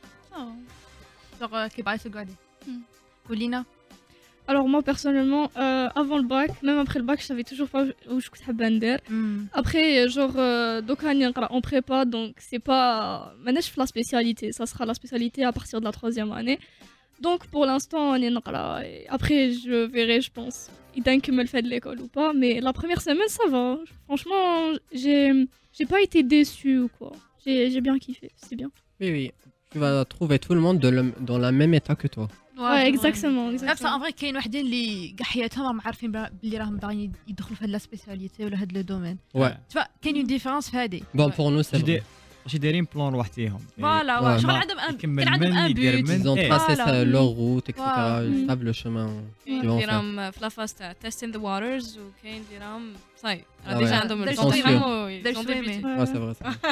جوغ كي بغيتي تقعدي ولينا Alors moi personnellement, euh, avant le bac, même après le bac, je savais toujours pas où je كنت حابة ندير. Après, genre, euh, دوكا راني نقرا en prépa, donc c'est pas ماناش في la spécialité, ça sera la spécialité à partir de la troisième année. Donc pour l'instant, راني نقرا. Et après, je verrai, je pense, إذا نكمل في هاد l'école ou pas. Mais la première semaine, ça va. Franchement, j'ai j'ai pas été déçue ou quoi. J'ai j'ai bien kiffé, c'est bien. Oui, oui, tu vas trouver tout le monde de le- dans la même état que toi. Ouais, exactement, بصح exactement. ان فري كاين وحدين اللي كاع حياتهم راهم عارفين بلي راهم باغيين يدخلوا في هاد لا سبيسياليتي ولا هاد لو دومين Ouais. تفا كاين اون ديفيرونس في هادي Bon, pour nous, c'est ماشي vrai. ماشي دايرين بلان لوحديهم فوالا Ouais. وا شغل ما عندهم ان يكمل كان عندهم من ان يدير بوت من. Ils ont Eh. tracé Voilà. ça- leur route, et cetera. Voilà. Ils savent le chemin qu'ils vont faire. ديرهم في لافاز تاع تيستين ذا واترز وكاين ديرهم صاي Ah ديجا ouais. عندهم داير الكونفيرمون داير شويمي. Ouais, c'est vrai, c'est vrai.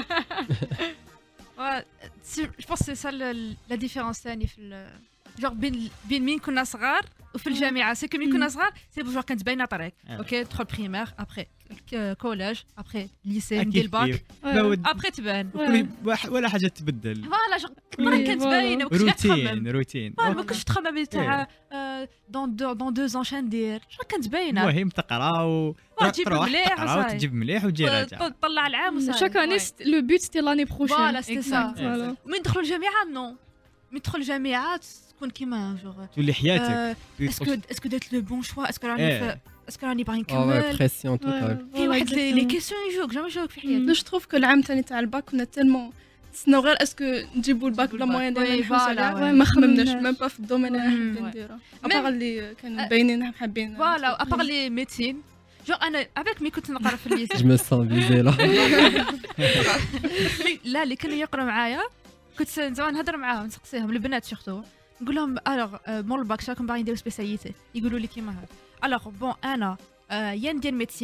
جو بونس سي سا لا ديفيرونس ثاني في ال- جوغ بين بين مين كنا صغار وفي الجامعه سي كو مين كنا صغار سي جوغ كانت باينه طريق آه. اوكي تدخل بريمير ابري كوليج ابري ليسي أكيد ندير الباك كيف. Ouais. لا ود- ابري تبان وكل- وح- ولا حاجه تبدل فوالا جوغ مرة كانت فوالا. باينه وكنت قاعد تخمم روتين روتين فوالا ما كنتش تخمم تاع دون دو دون دو زون شان ندير شنو كانت باينه المهم تقرا و تجيب تروح مليح تقرا وصاي. وتجيب مليح وتجي راجع طلع العام وصاي Chaque année, c'était- le but c'était l'année prochaine. Voilà, c'était ça. Voilà. من ندخلوا الجامعه نو من ندخل الجامعه تكون كيما جوغ تولي حياتك آه، تولي اسكو تخش- اسكو درت لو بون شوا اسكو راني إيه. في- اسكو راني باغي Ah ouais, نكمل pression totale. Ouais, كاين voilà, واحد لي لي exactement. كيسيون يجوك جامي يجوك في حياتك جو تروف كو العام الثاني تاع الباك كنا تالمون نتسناو غير اسكو نجيبوا الباك بلا الباك. موان وي، ديالنا نحوس فوالا، عليها وي. ما خممناش خممناش. ميم با في الدومين اللي مم. حابين وي. نديرو ميم- ابار اللي كانوا آه. باينين حابين فوالا ابار لي ميديسين جو انا عباك مي كنت نقرا في الليسي Je me sens visée là. لا اللي كانوا يقراو معايا كنت زعما نهضر معاهم نسقسيهم البنات سورتو نقول لهم الوغ مور الباك شراكم باغيين نديرو سبيسياليتي يقولوا لي كيما هكا الوغ بون انا آه، يا ندير ميديسين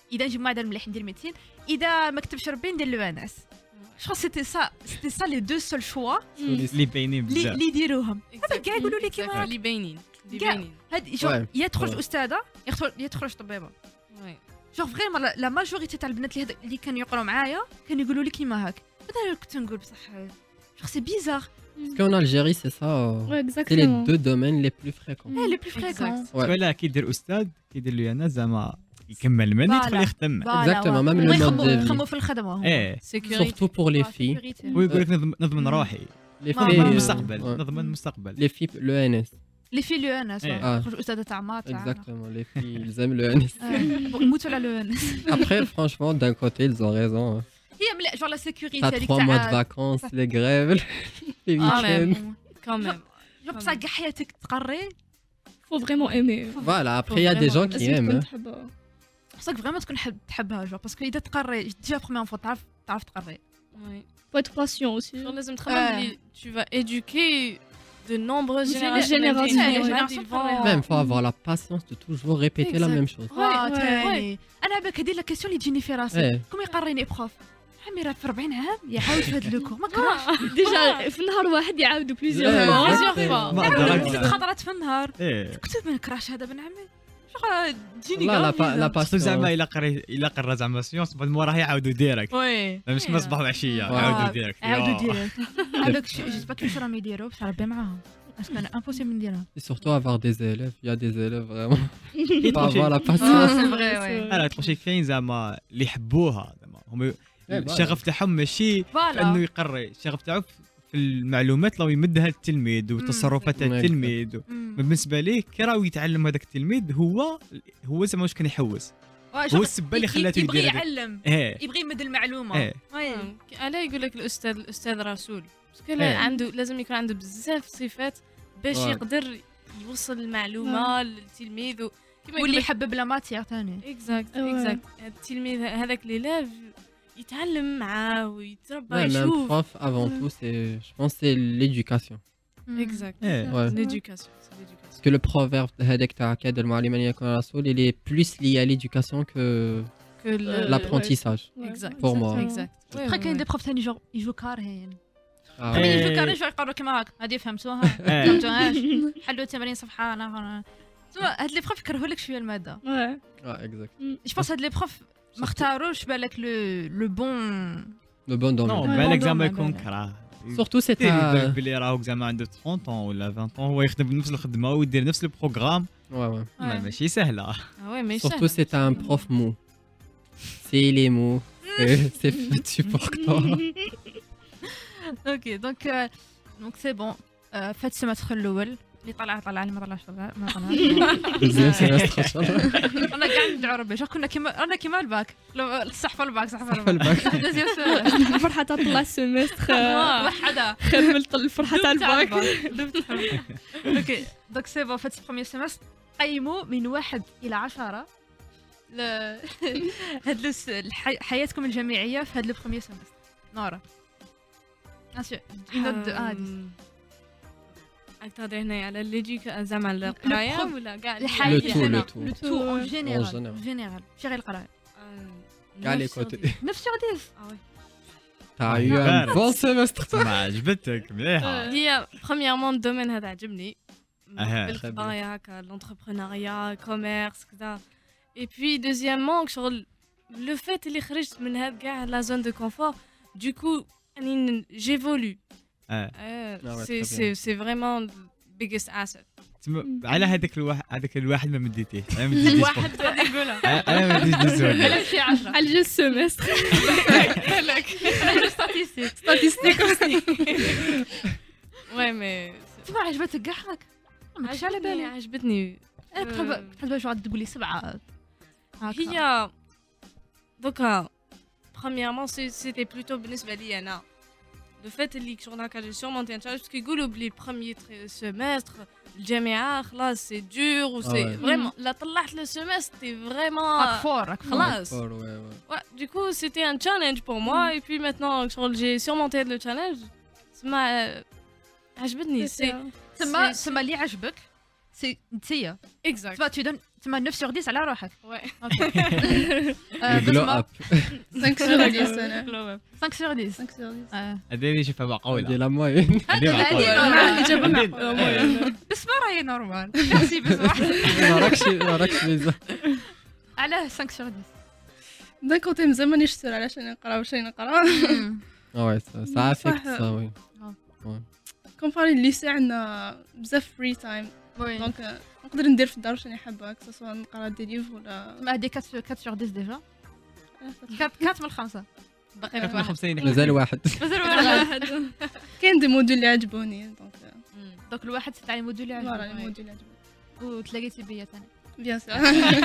اذا نجيب معدل مليح ندير ميديسين اذا ما كتبش ربي ندير لو ان اس جو سيتي سا سيتي سا لي دو سول شوا اللي باينين اللي بزاف اللي يديروهم هذا كاع يقولوا لي كيما اللي باينين اللي كاع. باينين هاد جو Ouais. يا تخرج Ouais. استاذه يدخل يا تخرج طبيبه وي جو فريمون لا ماجوريتي تاع البنات اللي هاد- اللي كانوا يقراو معايا كانوا يقولوا لي كيما هاك هذا كنت نقول بصح جو سي بيزار Parce qu'en Algérie, c'est ça. euh, Ouais, C'est les exactement. deux domaines les plus fréquents. ايه لي بلو فريكون Ouais. ولا كيدير استاذ كيدير له انا زعما يكمل من يدخل Voilà. يخدم Exactement, même le mode de vie. يخموا في الخدمه هما. ايه سيكوريتي Surtout pour les filles. ويقول لك نضمن- نضمن روحي Les Bah, نضمن filles, bah, المستقبل ouais. نضمن المستقبل Les filles, le N S. لي في لو ان اس إيه. خرج استاذه تاع مات Exactement, les filles, ils aiment le N S. يموتوا على لو ان اس Après, franchement, d'un côté, ils ont raison. hein. هي مليح جو لا سيكوريتي T'as هذيك trois mois de تاع vacances, les grèves, les Ah, week-ends. même. Quand même. جو بصح كاع حياتك تقري Faut vraiment aimer. Voilà, après, il y a des gens qui لازم aiment. تكون hein. تحبها. خصك فريمون تكون حب تحبها جو باسكو اذا تقري ديجا بروميير فوا تعرف تعرف تقري Oui. Faut être patient aussi. Genre, لازم تخمم بلي tu vas éduquer de nombreuses Des générations. générations, Même des ouais. générations Ouais. Même, faut avoir la patience de toujours répéter la Exact. même chose. وا ouais. تاني انا بالك هذه لا كيسيون اللي تجيني في راسي إيه. كوم يقريني بروف عمي راه في أربعين عام يعاود في هذا لوكو ما كرهش ديجا في نهار واحد يعاودوا Ouais, بليزيور plusieurs exactement. fois. ما يعاود أدراك. ست خطرات في النهار ايه كنت ما نكرهش هذا بن عمي شغل تجيني لا لا كاع با- لا خصو زعما patience. الا قري الا قرا زعما سيونس بعد موراه يعاودوا ديريكت وي مش كما صباح وعشيه آه. يعاودوا ديريكت عاودوا يا. ديريكت هذاك جيت با كيفاش راهم يديروا بصح ربي معاهم باسكو انا امبوسيبل نديرها Et surtout avoir des élèves. Il y a des élèves vraiment. إيه، Faut avoir la اه patience. سي فري وي انا تخشي كاين زعما اللي يحبوها زعما هم إيه، فوالا. الشغف تاعهم ماشي في انه فوالا يقري الشغف تاعو في المعلومات لو يمدها للتلميذ وتصرفات مم. التلميذ و- بالنسبه ليه كي راه يتعلم هذاك التلميذ هو هو زعما واش كان يحوس هو السبه اللي خلاته يبغي يدير هذاك. يعلم ايه يبغي يمد المعلومه ايه وي علاش يقول لك الاستاذ الاستاذ رسول باسكو إيه. عنده لازم يكون عنده بزاف صفات باش Ouais. يقدر يوصل المعلومه للتلميذ و- كيما واللي يقول يحبب لا ماتيير ثاني اكزاكت Ouais. اكزاكت التلميذ هذاك ليلاف يتعلم معاه ويتربى Ouais, mais un يشوف prof, avant tout, c'est, je pense, que c'est l'éducation. اكزاكت ايه Ouais. l'éducation c'est l'éducation Parce que le proverbe هذاك تاع كاد المعلم أن يكون رسول, il est plus lié à l'éducation que que le- l'apprentissage. Exact. Pour moi. exact بخي كاين دي بروف ثاني جو يجو كارهين Ah خليني ouais. يجو كارهين شو يقروا كيما هاك هذه فهمتوها إيه. فهمتوهاش حلوا ثمانين صفحه انا تما هاد لي بروف يكرهوا لك شويه الماده Ouais. Ah, exact. جو بونس هاد لي بروف ما اختاروش بالك لو لو بون Le bon domaine. نو Ouais. بالك bon زعما domaine، يكون بالك. كره Surtout, c'est بالك à... بلي راهو زعما عنده ثلاثين طون ولا عشرين طون هو يخدم بنفس الخدمه ويدير نفس البروغرام Ouais, ouais. ما- ماشي سهله ah ouais mais Surtout, c'est un prof mou. C'est les mots. C'est c'est fait support toi. اوكي دونك دونك سي بون فات السيمستر الاول اللي طلع طلع اللي ما طلعش طلع ما طلعش Deuxième semestre, Inch'Allah. انا قاعد ندعو ربي شوف كنا كيما انا كيما الباك لو- الصحفه الباك صحفه صحفة الباك الباك. دوزيام سيمستر الفرحة تاع طلع السيمستر وحده خملت الفرحة تاع الباك اوكي دونك سي بون فات البروميير سيمستر قيموا من واحد الى عشرة ل هاد لس- الحي- حياتكم الجامعيه في هاد لو بروميير سيمستر نورا اسيو ينض اه راك تهضر هنايا على ليديك زعما القرايه البروف- ولا كاع الحياه Le tout, ديالنا le tout. لو تو اون En جينيرال général. جينيرال ماشي غير القرايه Qu'à les côtés. neuf sur dix Ah ouais. T'as eu un Barrett. bon semestre, toi. ما عجبتك مليحه هي برومييرمون الدومين هذا عجبني أها. بالقرايه هكا لونتربرونيا كوميرس كذا اي بوي دوزيامون شغل لو فات اللي خرجت من هاد كاع لا زون دو كونفور دوكو اني جيفولو آه. ouais, سي très سي سي فريمون بيجست اسيت تم- على هذاك الواحد هذاك الواحد ما مديتيه انا ما مديتيش واحد غادي نقولها انا ما مديتش الزول على شي عشرة على جوج سيمستر ستاتيستيك ستاتيستيك وي مي تبع عجبتك كاع هاك ما كنتش على بالي عجبتني انا كنت حاب- كنت باش غادي تقولي سبعة هاكا. هي دوكا premièrement سي- سيتي بلوتو بالنسبه لي انا لو فات اللي شغل هكا جي سورمونتي ان تشالنج باسكو يقولوا بلي بروميير سيمستر الجامعه خلاص سي دور و Ah سي ouais. فريمون لا طلعت لو سيمستر تي راك فريمون فور راك فور خلاص Fort, ouais, ouais. Ouais, du coup, c'était un challenge pour moi. Et puis maintenant, genre, j'ai surmonté le challenge. Ça m'a. عجبتني. C'est. تما c'est- تما اللي عجبك سي نتيا Exact. تما tu donnes تما neuf sur dix على روحك Ouais. آه، Le glow بسمة up. خمسة sur دix انا خمسة sur dix خمسة sur dix آه. هذه اللي شوفها دي معقوله لا موين. هذه معقولة. هذه انا نورمال. الاجابه عندي- معقوله بسمة راهي نورمال ميرسي بسمة ما راكش ما راكش ميزان. علاه خمسة sur dix دان كوتي مزال مانيش سير علاش راني نقرا واش راني نقرا Ah ouais, ça, ça affecte صح. ça, oui. كومباري الليسي عندنا بزاف فري تايم وي دونك نقدر ندير في الدار واش راني حابه كسوا نقرا دي ليف ولا ما هذه أربعة sur dix ديجا أربعة من خمسة باقي كانت من خمسين مازال واحد. مازال واحد كاين دي موديل اللي عجبوني دونك دونك الواحد تاع الموديل اللي فوالا عجبك لي موديل اللي عجبوني وتلاقيتي بيا ثاني بيان سور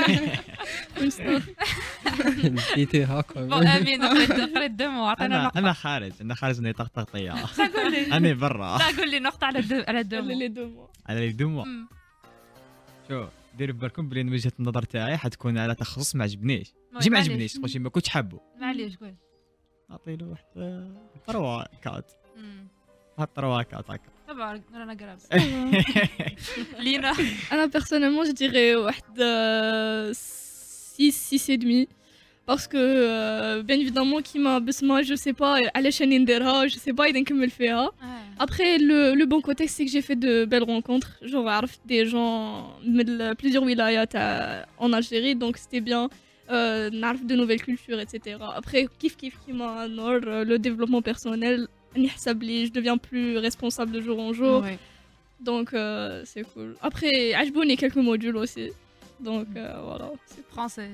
نسيتي هاكا. بون امين قريت قريت دمو عطينا انا نقطة انا خارج انا خارج اني طقطقيه قول لي انا برا لا قول لي نقطة على الدم على الدم لي دو موا على الدموع شو ديروا بالكم بلي وجهه النظر تاعي حتكون على تخصص ما عجبنيش ماشي ما عجبنيش تقول شي ما كنتش حابه معليش قول نعطي له واحد تروا كات هاد تروا كات هكا تبارك رانا قراب لينا انا personnellement je dirais واحد six six et demi parce que euh, bien évidemment كيما بسمة je sais pas علاش راني نديرها je sais pas اذا نكمل فيها. Après, le, le bon côté, c'est que j'ai fait de belles rencontres. Genre, عرفت des gens de plusieurs wilayas en Algérie, donc c'était bien. Euh, نعرف de nouvelles cultures, et cetera. Après, kiff kiff qui m'a nord, le développement personnel, نحسب لي, je deviens plus responsable de jour en jour. Ouais. Donc, euh, c'est cool. Après, عجبوني quelques modules aussi. Donc, euh, voilà. C'est français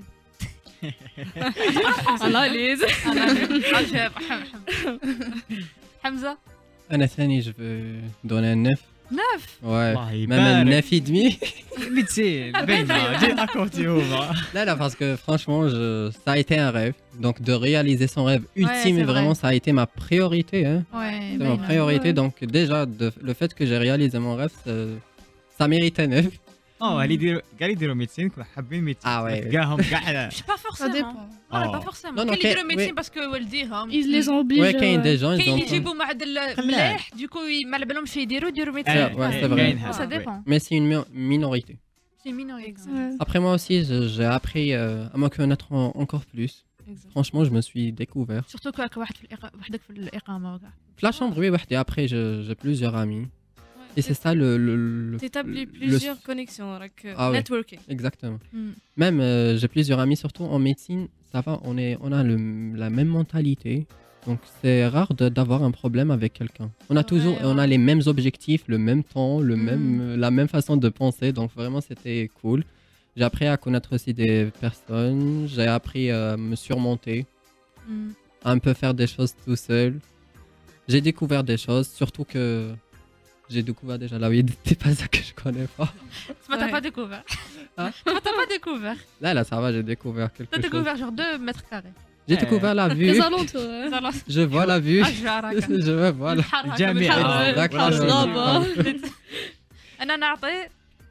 analyse. عجب حمزة انا ثاني جو دوني neuf. neuf Ouais. الله Même يبارك neuf et demi. ميتين باينه جي اكورتي هما Là, là, parce que franchement, je... ça a été un rêve. Donc, de réaliser son rêve ultime, c'est et vraiment, vrai. ça a été ma priorité. Hein. ouais C'est ma priorité. Ouais. Donc, déjà, de- le fait que j'ai réalisé mon rêve, ça, ça méritait neuf. اه اللي يديروا قال يديروا ميتين كون حابين ميتين آه وي. تلقاهم كاع مش با Ça فورسيمون dépend. ولا با آه. فورسيمون Non, non, كاين اللي يديروا كاين- ميديسين oui. باسكو والديهم Ils les obligent. Ouais, quand il y a des euh, gens, ils كاين ont. اللي يجيبوا معدل ملاح دوكو ما على بالهمش يديروا يديروا Ah, ميديسين ouais, c'est vrai. كاين سا هذا ديبون Mais c'est une mi- minorité. سي مينوريتي ouais. Après, moi aussi, je- j'ai appris euh, à me connaître en- encore plus. Exact. Franchement, je me suis découvert. سورتو كاك واحد في الإقا- وحدك في الاقامه وكاع La chambre, oui, ouais, et après, je- j'ai plusieurs amis. Et c'est ça le. le, le- T'établis le- plusieurs connexions, like, euh, Ah ouais. networking. Exactement. Mm. Même, euh, j'ai plusieurs amis, surtout en médecine, ça va, on, est, on a le, la même mentalité. Donc, c'est rare de- d'avoir un problème avec quelqu'un. On a toujours, Ouais, on a ouais. les mêmes objectifs, le même temps, le Mm. même, la même façon de penser. Donc, vraiment, c'était cool. J'ai appris à connaître aussi des personnes. J'ai appris à me surmonter, Mm. à un peu faire des choses tout seul. J'ai découvert des choses, surtout que j'ai découvert déjà la vie des personnes que je connais pas. ما t'as Ouais. pas découvert Hein ما t'as pas découvert Là, là, ça va, j'ai découvert quelque t'as chose. découvert genre deux mètres carrés J'ai Eh. découvert la vue. Les alentours. hein. زعما Je vois la vue. اشجار هكا Je vois, voilà. الحر هكا جامعة. بالحر. آه، Exactement. Là-bas. انا نعطي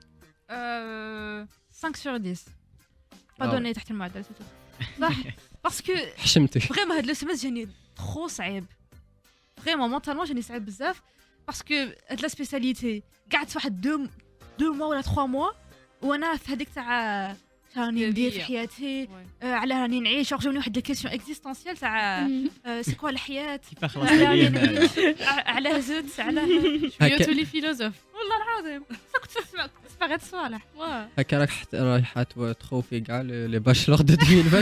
آه، خمسة sur dix با آه. دوني تحت المعدل سيتو صح باسكو حشمتي. فريمون هاد لو سيمس جاني ترو صعيب فريمون مونطالمون جاني صعيب بزاف باسكو هاد لا سبيساليتي قعدت واحد دو دو موا ولا تخوا موا وانا في هذيك تاع راني ندير في حياتي Ouais. آه، على راني نعيش جاوني واحد دي كيسيون اكزيستونسيال تاع Mm. آه، سي كوا الحياه كيف خلاص على راني عليا هذا نعيش ع- على زدت على هكا tous les philosophes. والله العظيم كنت تسمع تسمع غير صالح Ouais. هكا راك حت- رايحة تو- تخوفي كاع لي لي باشلور دو ألفين وعشرين.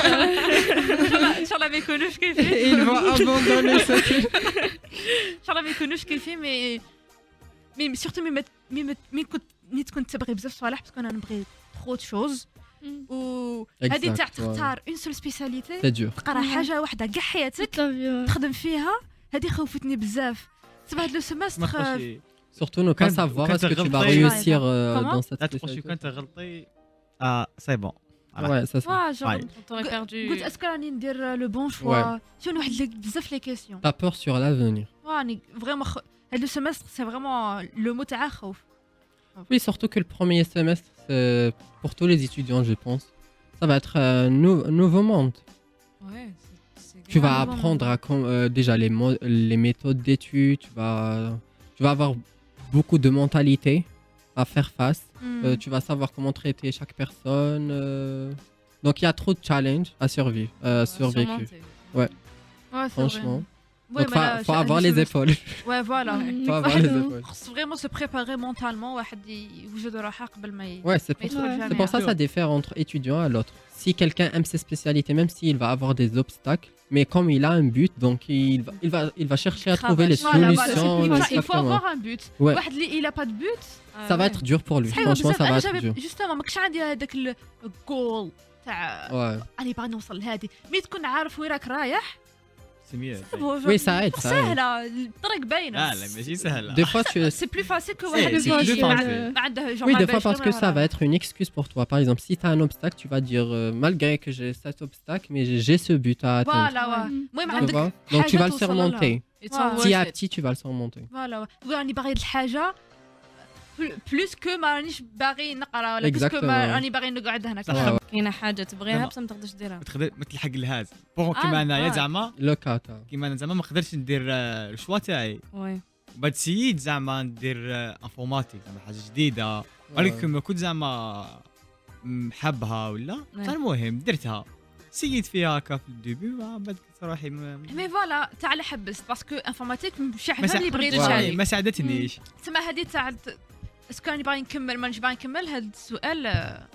ان شاء الله ما يكونوش كيفي Il va abandonner cette ان شاء الله ما يكونوش كيفي مي مي سورتو مي مت- مي مت- مي كنت مي كنت تبغي بزاف صوالح باسكو انا نبغي ترو شوز و هذه تاع Exact, ouais. تختار اون سول سبيساليتي C'est dur. تقرا حاجه واحده كاع حياتك Toute la vie. ouais. تخدم فيها هذه خوفتني بزاف تبع هاد لو ما سيمستر تخشي Surtout ne pas Quand- savoir quand est-ce que t'as tu vas غلطي- réussir euh, Comment dans cette لا تخشي spécialité. كون تغلطي اه سي بون Ouais, ça c'est. وا جون Ouais. On t'aurait perdu. قلت اسكو راني ندير لو بون شوا شنو واحد لي- بزاف لي كيسيون T'as peur sur l'avenir. راني فريمون هاد لو سيمستر سي فريمون لو مو تاع خوف Oui, surtout que le premier semestre, c'est pour tous les étudiants, je pense. Ça va être un nou- nouveau monde. Ouais, c'est- c'est Tu grave. vas Ouais, apprendre à com- euh, déjà les, mo- les méthodes d'études, tu vas, tu vas avoir beaucoup de mentalité. à faire face. Mm. Euh, tu vas savoir comment traiter chaque personne. euh. Donc il y a trop de challenges à survivre, euh, survécu. Ouais, c'est Franchement. vrai. Ouais, Donc mais faut, là, faut je- avoir je les me- épaules. Ouais, voilà. Mm. faut avoir les Pardon. épaules. خص vraiment se préparer mentalement واحد يوجد روحه قبل ما ي... Ouais, c'est ما pour, يدخل Ouais. الجامعة. c'est pour ça que ça diffère entre étudiant et l'autre. Si quelqu'un aime ses spécialités, même s'il va avoir des obstacles, mais comme il a un but, donc il va, il va, il va chercher à trouver les Voilà, voilà, c'est solutions. plus ça. Il faut exactement. avoir un but. Ouais. واحد اللي il a pas de but. Ça va être dur pour lui. صحيح Franchement, بزاف. ça va انا être جابي dur. جوستومون ماكش عندي هذاك الجول تاع Ouais. اني باغي نوصل لهادي مي تكون عارف وين راك رايح. سي ميو Oui, ça aide, ça aide. سهله الطريق باينه. لا لا ماشي سهله Des fois, tu سي بلو فاسيل كو C'est- واحد c'est اللي plus ما- facile. ما عنده genre Oui, ما des fois باش parce que ما ça va راه. être une excuse pour toi. Par exemple, si tu as un obstacle, tu vas dire euh, malgré que j'ai cet obstacle, mais j'ai- j'ai ce but à atteindre. فوالا واه. المهم Tu عندك vois? Donc tu vas le توصل لها. surmonter. It's all Petit à worth it. petit, tu vas le surmonter. فوالا تقول راني باغي هاد الحاجه بلوس كو ما رانيش باغي نقرا ولا بلوس كو Exactement. ما راني باغي نقعد هناك. صح. Ouais, ouais. كاينه حاجه تبغيها زعما. بصح ما تقدرش ديرها. ما تقدر ما تلحق لهذا بوغ آه، كيما انايا آه. زعما Le cas, t'as- كيما انا زعما ما قدرتش ندير آه، الشوا تاعي وي بعد سييت زعما ندير آه، انفورماتيك زعما حاجه جديده ولكن ما كنت زعما م- حابها ولا نعم. فالمهم درتها سييت فيها هكا في الديبي وبعد قلت روحي ما مي فوالا تاع اللي حبست باسكو انفورماتيك مش ما حاجه سا- اللي بغيت Ouais. تشارك. ما ساعدتنيش تسمى هذه تاع الت- اسكو راني باغي نكمل مانيش باغي نكمل هذا السؤال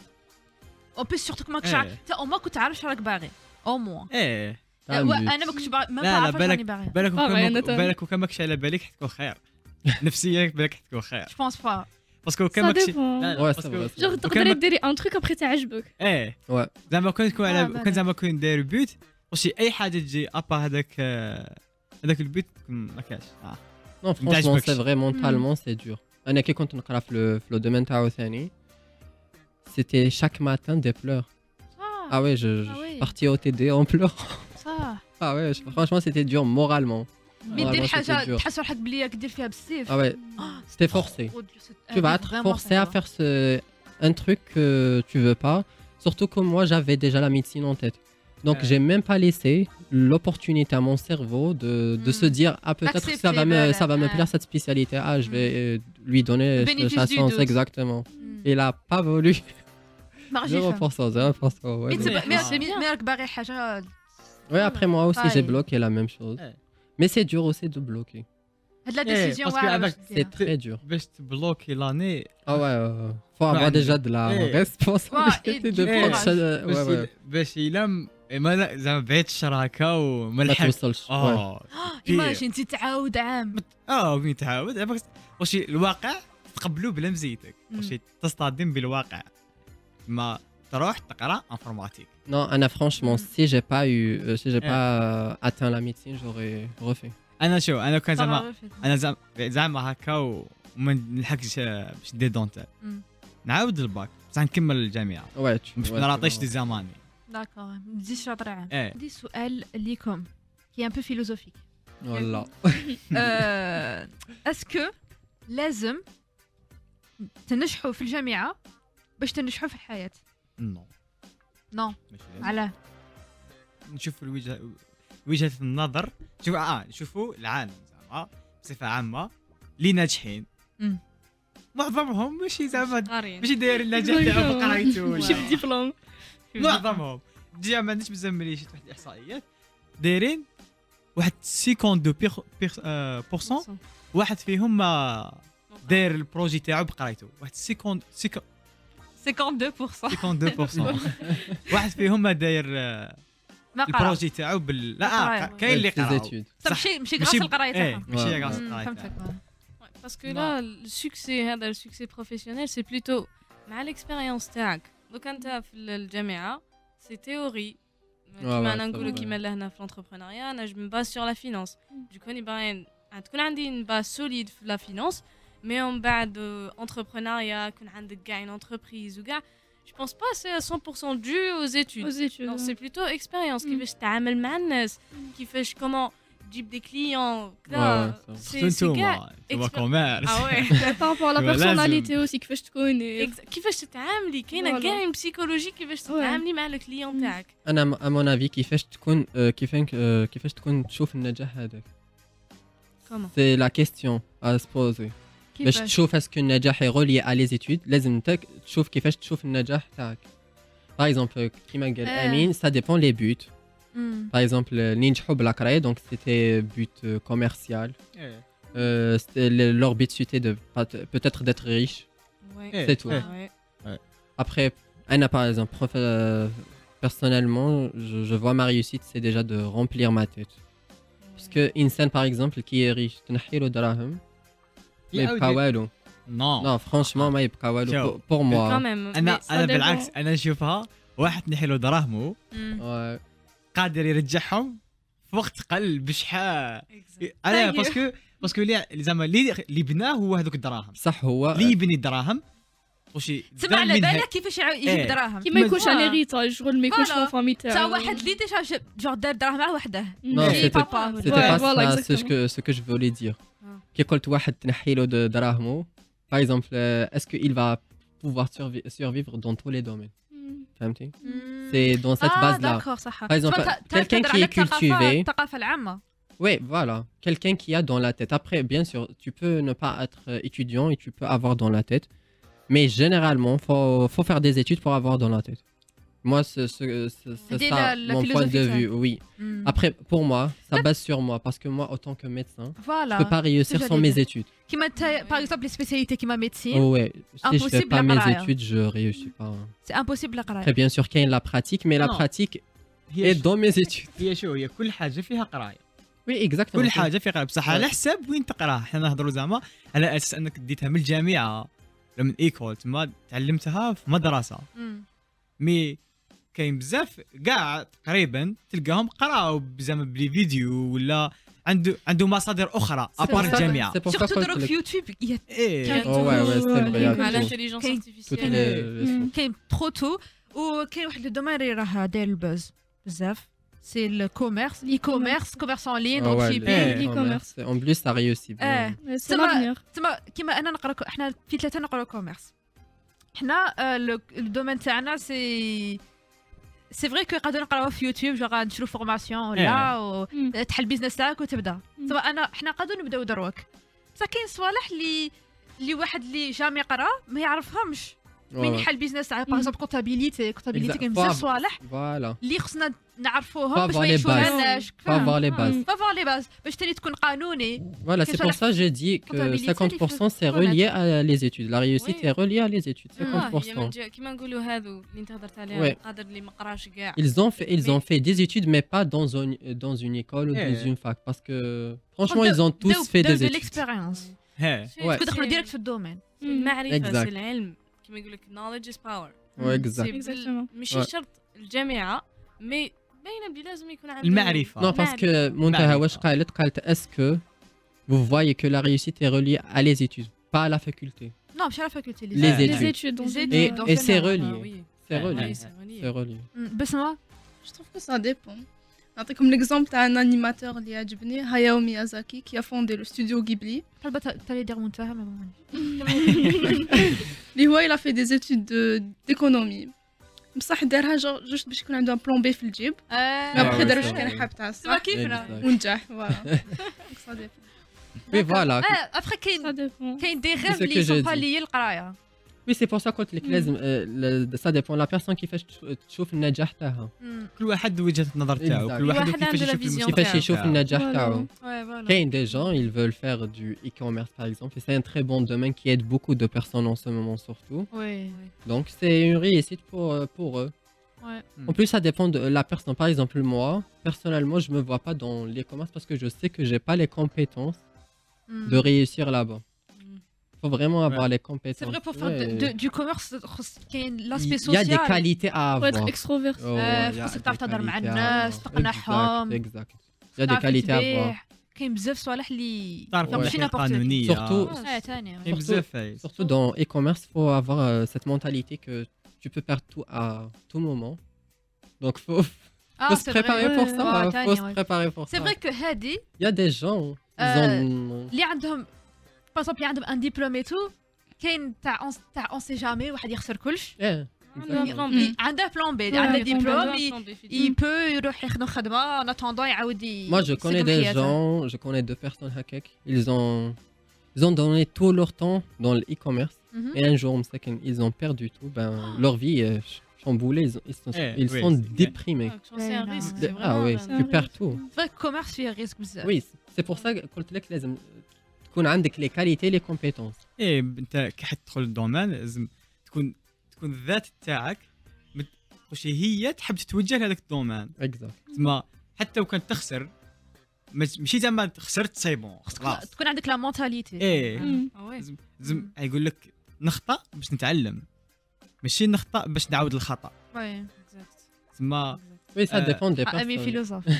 او بيس سورتو ماكش إيه. عارف تا او ما كنت عارف شراك باغي او موا ايه t'as un but. انا ما كنتش باغي ما لا لا بعرف واش راني بالك باغي. بالك باغي وكان أنا ما- تا- بالك وكان ماكش على بالك حتكون خير نفسيا بالك حتكون خير جو بونس با. باسكو كان Ça ماكش dépend. لا لا Ouais, ça باسكو va. ça va. جوغ تقدري ديري ان تروك ابخي تعجبك. ايه Ouais. زعما كان تكون آه، على بالك. كان زعما كون داير بيوت واش اي حاجه تجي ابا هذاك آه، هذاك البيت ما كاش آه. Non, franchement, تعجبكش. c'est vrai, mentalement, c'est dur. أنا كي كنت نقرا في le- في le domaine تاعو ثاني c'était chaque matin des pleurs. صح Ah ouais, je, je Ah ouais. suis parti au T D en pleurant. صح. Ah ouais, je- franchement, c'était dur moralement. مي دير Moralement, c'était حاجه dur. تحس روحك بلي راك دير فيها بالسيف. Ah ouais, c'était forcé. Tu vas être forcé à faire ce... un truc que tu veux pas. Surtout que moi, j'avais déjà la médecine en tête. Donc, Ouais. j'ai même pas laissé l'opportunité à mon cerveau de, de Mm. se dire ah peut-être que ça va me D'accepter, ça va me voilà. plaire cette spécialité. Ah, je vais Mm. euh, lui donner Le euh, bénéfice sa du chance doute. exactement. Il a pas voulu. zéro pour cent, zéro pour cent. Ouais, مي donc- تبقى- Ah. مي- مي مي راك باغي حاجه. Ouais, après moi aussi, j'ai Pareil. bloqué la même chose. Ouais. Mais c'est dur aussi de bloquer. هاد لا إيه، ديسيزيون باسكو واعره باش عباك ديرها. C'est très dur. باش تبلوكي لاني Ah ouais, euh, faut avoir عندي. déjà de la Eh. responsabilité Ouais, et de du prendre courage. ça. Ouais, باش ouais. باش يلم ما لا زعما بعيد الشر هكا وما ما لحقش توصلش. Ouais. اه ايماجين انت تعاود عام. اه وين تعاود عباك واش الواقع تقبلو بلا مزيتك مم. واش تصطدم بالواقع ما تروح تقرا انفورماتيك Non, Anna, franchement, Mm. si j'ai pas eu, euh, si j'ai Eh. pas euh, atteint la médecine, j'aurais refait. انا شو انا كان زعما صراحة. انا زعما زعما هكا وما نلحقش باش ندير دونتال مم. نعاود الباك بصح نكمل الجامعه Ouais, tu. باش ouais, ما tu نعطيش vas- دي زماني داكور ما تزيدش شاطر عام. ايه عندي سؤال ليكم كي ان بو فيلوزوفيك. Voilà. اسكو لازم تنجحوا في الجامعه باش تنجحوا في الحياه؟ نو نو ماشي لازم. علاه؟ نشوف الوجهه وجهه النظر شوف اه نشوفوا العالم زعما بصفه عامه اللي ناجحين مم. معظمهم ماشي زعما قارين ماشي داير النجاح تاعو بقرايته ماشي ولا بديبلوم. معظمهم جا ما عنديش بزاف ملي شفت واحد الاحصائيات دايرين واحد خمسة وخمسين بورسون واحد فيهم ما داير البروجي تاعو بقرايته واحد خمسين اثنين وخمسين بالمية. اثنين وخمسين واحد فيهم ما داير آه، ما قرا. البروجي تاعو بال لا آه، قراية. كاين اللي Ses قراو études. صح صح. ماشي ماشي ماشي غاس القرايه ايه تاعها. ماشي Ouais. غاس مم، القراية فهمتك. تاعها. Parce que là, le succès, هذا le succès professionnel, c'est plutôt مع l'expérience تاعك. دوك انت في الجامعة سي تيوري كيما ouais, انا c'est نقولوا vrai. كيما لهنا في لونتربرونيا انا جو مباز سور لا فينانس دوك راني باغي تكون عندي une base solide في لا فينانس مي من بعد entrepreneuriat يكون عندك كاع une entreprise وكاع je pense pas c'est à cent pour cent dû aux études. Aux études. Non, c'est plutôt expérience Mm. كيفاش تتعامل مع الناس كيفاش comment تجيب des clients Ouais, كذا ouais, c'est c'est c'est كاع انتوما انتوما expert- كوميرس ah ouais Par rapport à la Tu vois, personnalité لازم. aussi كيفاش تكون. et- Exa- كيفاش تتعاملي كاينه Voilà. كاع une psychologie كيفاش تتعاملي مع الكليون تاعك. انا à mon avis كيفاش تكون آه، كيفاش آه، كيفاش تكون تشوف النجاح هذاك Comment c'est la question à se poser باش تشوف اسكو النجاح رولي على لي زيتود لازم انت تشوف كيفاش تشوف النجاح تاعك. باغ اكزومبل كيما قال امين سا ديبون لي بوت. باغ اكزومبل ننجحوا بالقرايه دونك سيتي بوت كوميرسيال. leur but c'était de peut-être d'être riche. C'est tout. Après Anna par exemple personnellement je, je vois ma réussite c'est déjà de remplir ma tête. Parce que Insan par exemple qui est riche تنحي له دراهم ما يبقى والو. Non. Non franchement ما يبقى والو pour moi. انا انا بالعكس انا نشوفها واحد تنحي له دراهمه قادر يرجعهم في وقت قل بشحال. انا باسكو باسكو اللي زعما اللي اللي بناه هو هذوك الدراهم. صح هو اللي يبني الدراهم وشي تسمع على بالك كيفاش يجيب دراهم كي ما يكونش على ريطاج شغل ما يكونش في فامي تاعو تا واحد اللي ديجا جور دار دراهم مع وحده. Non c'était pas ce que ce que je voulais dire. كي قلت واحد تنحي له دراهمه par exemple est-ce qu'il va pouvoir survivre dans tous les domaines. فهمتي؟ C'est dans cette base là. Par exemple quelqu'un qui est cultivé. الثقافة العامة. Oui, voilà. Quelqu'un qui a dans la tête. Après, bien sûr, tu peux ne pas être étudiant et tu peux avoir dans la tête. Mais généralement, il faut, faut faire des études pour avoir dans la tête. Moi, c'est ça la, la mon point de vue. Oui. Mm. Après, pour moi, ça base sur moi. Parce que moi, autant que médecin, voilà. je ne peux pas réussir sans mes études. Qui par exemple, les spécialités qui m'a médecine. Oh, ouais. Si je ne fais pas mes études, je ne réussis pas. C'est impossible la Très bien sûr qu'il y a la pratique, mais la non. pratique est dans mes études. هي شو هي كل حاجة فيها قراية. Oui, exactement. كل حاجة فيها قراية بصح على حساب وين تقراها. حنا نهضروا زعما على أساس أنك ديتها من الجامعة ولا من إيكول تما تعلمتها في مدرسة. مي كاين بزاف كاع تقريبا تلقاهم قراو زعما بلي فيديو ولا عنده عنده مصادر اخرى ابار الجامعه. سورتو دروك في يوتيوب ايه وي وي سي مع الانتيليجنس ارتيفيسيال كاين ترو تو وكاين واحد لو دومين اللي راه داير البوز بزاف سي الكوميرس الاي كوميرس كوميرس ان لين دروب شيبين الاي كوميرس اون بليس سا ريوسي اه تما تما كيما انا نقرا احنا في ثلاثه نقراو كوميرس حنا الدومين تاعنا سي سي فري كو قادر نقراو في يوتيوب جو غنشرو فورماسيون ولا تحل البيزنس تاعك وتبدا سواء انا حنا قادر نبداو دروك بصح كاين صوالح اللي اللي واحد اللي جامي قرا ما يعرفهمش من يحل البيزنس تاع باغ اكزومبل كونتابيليتي كونتابيليتي كاين بزاف صوالح فوالا اللي خصنا نعرفوهم باش ما يشوفوناش فافوار لي باز فافوار لي باز باش تاني تكون قانوني. Voilà, c'est pour ça que j'ai dit que cinquante pour cent c'est relié à les études. La réussite est reliée à les études. cinquante pour cent. كيما نقولوا هذو اللي انت هضرت عليهم قادر اللي ما قراش كاع. Ils ont fait ils ont fait des études mais pas dans une dans une école ou dans une fac parce que franchement ils ont tous fait des études. De l'expérience. Ouais. تدخلوا ديريكت في الدومين. المعرفة سي العلم كيما يقول لك knowledge is power. Exactement. ماشي شرط الجامعة مي باينه بلي لازم يكون عنده المعرفه. Non parce que منتهى واش قالت قالت est-ce que vous voyez que la réussite est reliée à les études pas à la faculté. Non مش على faculté les les études études et c'est relié c'est relié c'est relié. بسمة je trouve que ça dépend. نعطيكم l'exemple تاع un animateur اللي عجبني هاياو ميازاكي qui a fondé le studio Ghibli. حبت تالي دير منتهى ما اللي هو il a fait des études d'économie بصح دارها جوست باش يكون عنده ان بلان بي في الجيب ابخي دار واش كان حاب تاع الصح كيفنا ونجح فوالا صديق Oui voilà. ابخي كاين كاين دي غيف اللي سون با لي القرايه. Oui c'est pour ça قلت لك لازم ça dépend la personne كيفاش تشوف النجاح تاعها. كل واحد وجهة النظر تاعو كل واحد كيفاش يشوف كيفاش يشوف النجاح تاعو. كاين des gens ils veulent faire du e-commerce par exemple et c'est un très bon domaine qui aide beaucoup de personnes en ce moment surtout. Oui. Donc c'est une réussite pour pour eux. Ouais. En plus ça dépend de la personne. Par exemple moi personnellement je me vois pas dans l'e-commerce parce que je sais que j'ai pas les compétences de réussir là-bas. Il faut vraiment avoir ouais. les compétences. C'est vrai, pour faire ouais. de, de, du commerce, il y a l'aspect social. Il y a des qualités à avoir. Faut être extroverti. Oh, il faut savoir تهضر مع الناس تقنعهم. Exact. Il y a des qualités à avoir. كاين بزاف صوالح اللي ماشي قانونية. Surtout surtout dans e-commerce, il faut avoir euh, cette mentalité que tu peux perdre tout à tout moment. Donc faut faut se préparer pour ça. Faut se préparer pour ça. C'est vrai que هادي. Il y a des gens ils ont اللي عندهم par exemple عندهم ان ديبلوم اي تو كاين تاع تاع اون سي جامي واحد يخسر كلش عنده بلان بي عنده ديبلوم اي بو يروح يخدم خدمه ان اتوندون يعاود. Moi je connais des gens je connais deux personnes هكاك ils ont ils ont donné tout leur temps dans l'e-commerce. Mhm. Et un jour, مساكن, ils ont perdu tout. Ben, leur vie est chamboulée. Ils, ils sont, Eh, ils oui, sont c'est- déprimés. C'est un Ouais, risque. non. c'est Ah vraiment oui, un- tu perds tout. C'est vrai que commerce فيه risque بزاف. Oui, c'est pour ça que قلت لك لازم تكون عندك les qualités, les compétences. ايه انت كي حتدخل الدومين لازم تكون تكون الذات تاعك مت- واش هي تحب تتوجه لهذاك الدومين Exact. زعما حتى لو كانت تخسر مش- ماشي زعما خسرت سي بون خلاص تكون عندك لا مونتاليتي. ايه مم. Ah ouais. زم زم يقول لك نخطا باش نتعلم ماشي نخطا باش نعاود الخطا Ouais. Exact. زعما Oui, ça Euh, dépend des Ah, ami personnes. philosophe.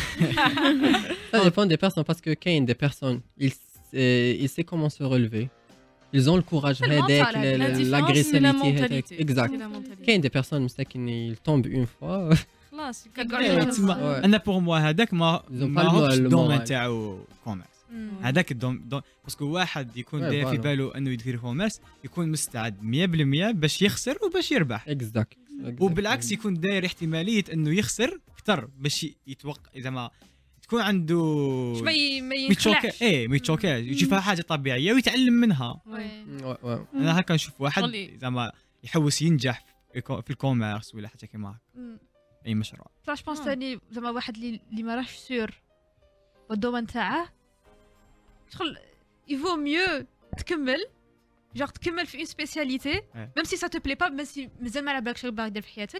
Ça dépend des personnes parce que quand il y a des personnes, ils, euh, ils savent comment se relever. Ils ont le courage, C'est le هذاك, mental, le- La le- différence, c'est la l'agressivité. هذاك. mentalité. Exact. C'est la mentalité. Quand il y a des personnes, مساكن, ils tombent une fois. خلاص كنقول إيه، لك تسمى Ouais. انا بور موا هذاك ما Ils ont ما pas le هوش moral, le الدومين moral. تاعو كوميرس Mm. هذاك الدوم دو... باسكو واحد يكون Ouais, داير في voilà. باله انه يدير كوميرس يكون مستعد مية بالمية باش يخسر وباش يربح Exact. وبالعكس يكون داير احتماليه انه يخسر اكثر باش يتوقع اذا ما تكون عنده ما ي- ما ميتشوكا ينخلعش. ايه ميتشوكا يشوفها حاجه طبيعيه ويتعلم منها Ouais. Ouais, ouais. انا هكا نشوف واحد قولي. زعما يحوس ينجح في الكو- في الكوميرس ولا حاجه كيما هكا Mm. اي مشروع لا جو بونس آه. ثاني زعما واحد اللي اللي ما راهش سور بالدومين تاعه شغل يفو ميو تكمل جوغ تكمل في اون سبيسياليتي ميم سي سا تو بلي با ميم سي مازال ما على بالك شنو باغي دير في حياتك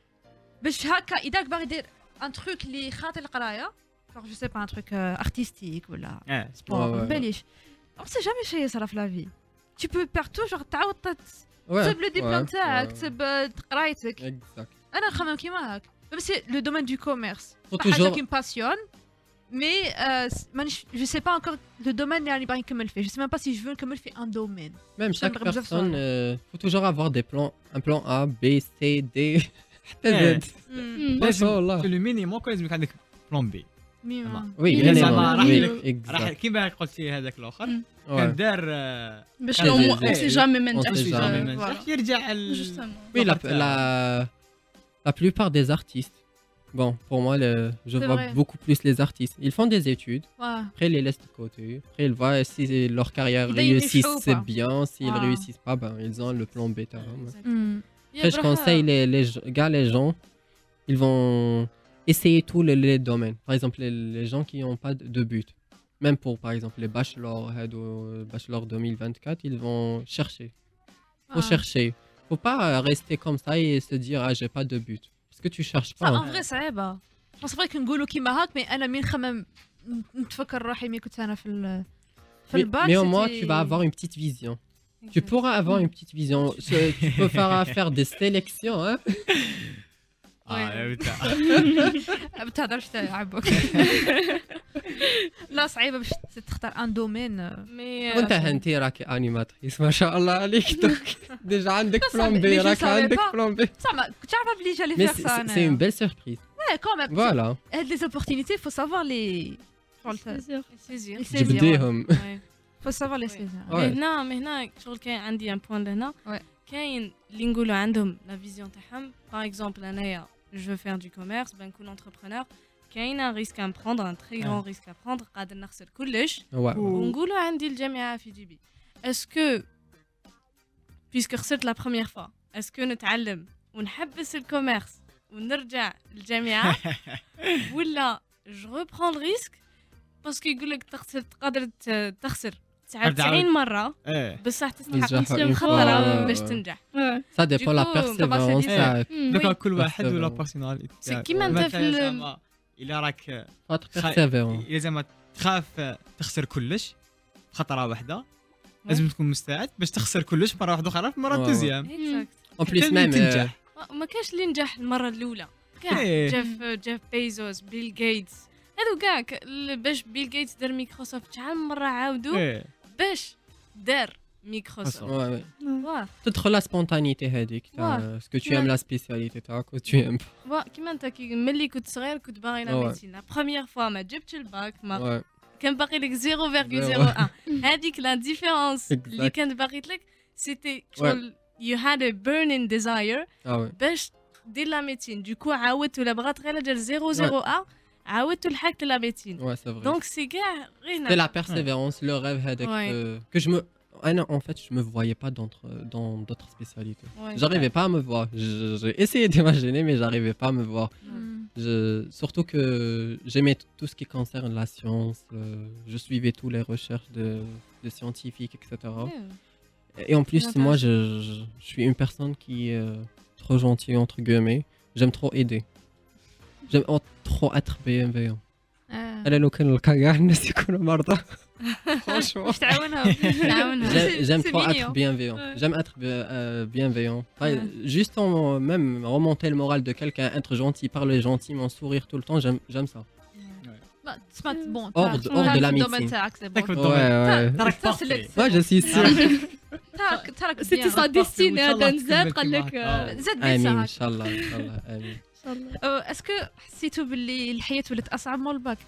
باش هكا اذا باغي دير ان تروك اللي خاطر القرايه جوغ جو سي با ان تروك ارتستيك ولا اه سبور Ouais, ما ouais, باليش اون سي جامي شي يصرا في لا في tu peux perdre tout genre تعاود تت- Ouais, تكتب لو ديبلوم ouais, تاعك ouais. تكتب قرايتك Exact. انا نخمم كيما هاك ميم سي لو دومين دو كوميرس Faut حاجه toujours- كي باسيون مي مانيش جو سي با انكور لو دومين اللي راني باغي نكمل فيه جو سي ميم با سي جو نكمل في ان دومين Même chaque نبغي بزاف personne, صوالح. euh, faut toujours avoir des plans, un plan A, B, C, D. حتى Z. مم. لازم والله. في المينيموم لازم يكون عندك بلان بي ميم Oui, Il bien est évidemment. زعما راح Oui, لك- راح exact. كيما قلتي هذاك الاخر مم. Ouais. كان دار آه، باش كان لو زي- مو زي- سي جامي ما on sait نجحش باش jamais. جامي في- ما فوالا. نجحش يرجع ال- جوستومون Oui, la, Enfin, la, la plupart des artistes, bon, pour moi, le, je C'est vois vrai. beaucoup plus les artistes. Ils font des études, واه après ils les laissent de côté, après ils voient si leur carrière Ils donnent une réussit, show, c'est quoi. bien, s'ils Ah. réussissent pas, ben, ils ont le plan bêta. Il y a Après, je Braha- conseille les, les g- gars, les gens, ils vont essayer tous les, les domaines. Par exemple, les, les gens qui n'ont pas de, de but. Même pour, par exemple, les bachelors, head ou bachelor deux mille vingt-quatre, ils vont chercher. Faut chercher. Faut pas euh, rester comme ça et se dire, ah, j'ai pas de but. Parce que tu cherches pas. ان hein. فغي صعيبه بس فريك نقولوا كيما هاك مي انا مين نخمم نتفكر روحي مي كنت انا في ال- في Mais, الباك mais au moins, c'était- tu vas avoir une petite vision. Tu Exact. pourras avoir une petite vision. Ce- Tu peux faire, faire des sélections. Hein. اه بتاع. ما تهضرش تا عبوك لا صعيبه باش تختار ان دومين Mais, euh, وانت هنتي راكي انيماتريس ما شاء الله عليك دوك ديجا عندك Ça, بلان mais بي je راك savais عندك pas. بلان بي زعما كنت عارفه بلي جالي Mais فيغ c'est سا c'est une belle surprise. Ouais, quand même. Voilà. هاد لي زوبورتينيتي faut savoir les faut le saisir. les saisir. ouais. جبديهم. Ouais. faut savoir les Ouais. saisir. Ouais. mais هنا mais هنا شغل كاين عندي ان بوان لهنا Ouais. كاين اللي نقولوا عندهم لا فيزيون تاعهم باغ اكزومبل انايا جو فير دو كوميرس بنكون انتربرونور كاين ان ريسك ان بروندر ان تري غران ريسك ا بروندر قادر نخسر كلش Ouais. ونقولوا عندي الجامعه في جيبي اسكو بيسكو خسرت لا بروميير فوا اسكو نتعلم ونحبس الكوميرس ونرجع للجامعه ولا جو ريبرون الريسك باسكو يقول لك تخسر تقدر ت- تخسر تسعة وتسعين مره ايه بصح تستحق ينجحوا تصير une خطره fois. باش تنجح Ça dépend la Du coup, persévérance. comment ça- دوكا كل بس واحد ولا bon. بيرسوناليتي سي كيما انت في ال- الا راك Faut être خا- persévérant. الا زعما تخاف تخسر كلش خطره واحده لازم تكون مستعد باش تخسر كلش مره واحده اخرى في مره Ouais, دوزيام Exact. En plus حتى même. تنجح. euh, ما كاش اللي نجح المره الاولى كاع إيه. جيف جيف بيزوس بيل غيتس هادو كاع ك- ال- باش بيل غيتس دار مايكروسوفت شحال من مره عاودوا ايه باش دار مايكروسوفت ouais, ouais. واه تدخل la spontanéité هذيك. Ouais. Ce que tu aimes la spécialité تاعك و tu aimes pas. واه كيما انت كي ملي كنت صغير كنت باغي لا Ouais. ميديسين لا بروميير فوا ما جبتش الباك ما Ouais. كان باقي لك صفر فاصلة صفر واحد هذيك لا ديفيرونس اللي Exact. كانت باقيت لك سيتي شغل يو هاد ا بيرنين ديزاير Ah ouais. باش دير لا ميديسين دوكو عاودت ولا بغات غير دير صفر صفر واحد عاودتوا لحقت لا ميديسين Ouais, c'est vrai. دونك سي كاع غير C'est la persévérance, le rêve هذاك Ouais. euh, que je me ah non, en fait, je me voyais pas dans dans d'autres spécialités. Ouais. J'arrivais pas à me voir. Je- J'ai essayé d'imaginer, mais j'arrivais pas à me voir. Je- surtout que j'aimais t- tout ce qui concerne la science. euh, je suivais toutes les recherches de, de scientifiques, et cetera. Ouais. Et en plus, Intéressant. moi, je, je- je suis une personne qui est euh, trop gentille, entre guillemets. J'aime trop aider. J'aime oh, trop être bienveillant. أنا لو كان نلقى كاع الناس يكونوا مرضى. Franchement. واش تعاونها تعاونها J'aime j'aime C'est trop être mignon. bienveillant. Ouais. J'aime être bi- euh, bienveillant. Enfin, Ouais. Juste en même remonter le moral de quelqu'un, être gentil, parler gentiment, sourire tout le temps, j'aime j'aime ça. ما تسمع بون Hors de- hors de la الدومين médecine. تاعك سي تاك بون بالضبط. Ouais, ouais. تراك Ça, c'est بارفي. le- Moi, je suis sûr. تراك تراك سيتي سا بيان ديستيني وإن شاء الله هذا نزاد تكمل قال لك كيما آه، زاد آمين بيان إن شاء الله إن شاء الله آمين. ان شاء الله اسكو حسيتوا باللي الحياه ولات اصعب من الباك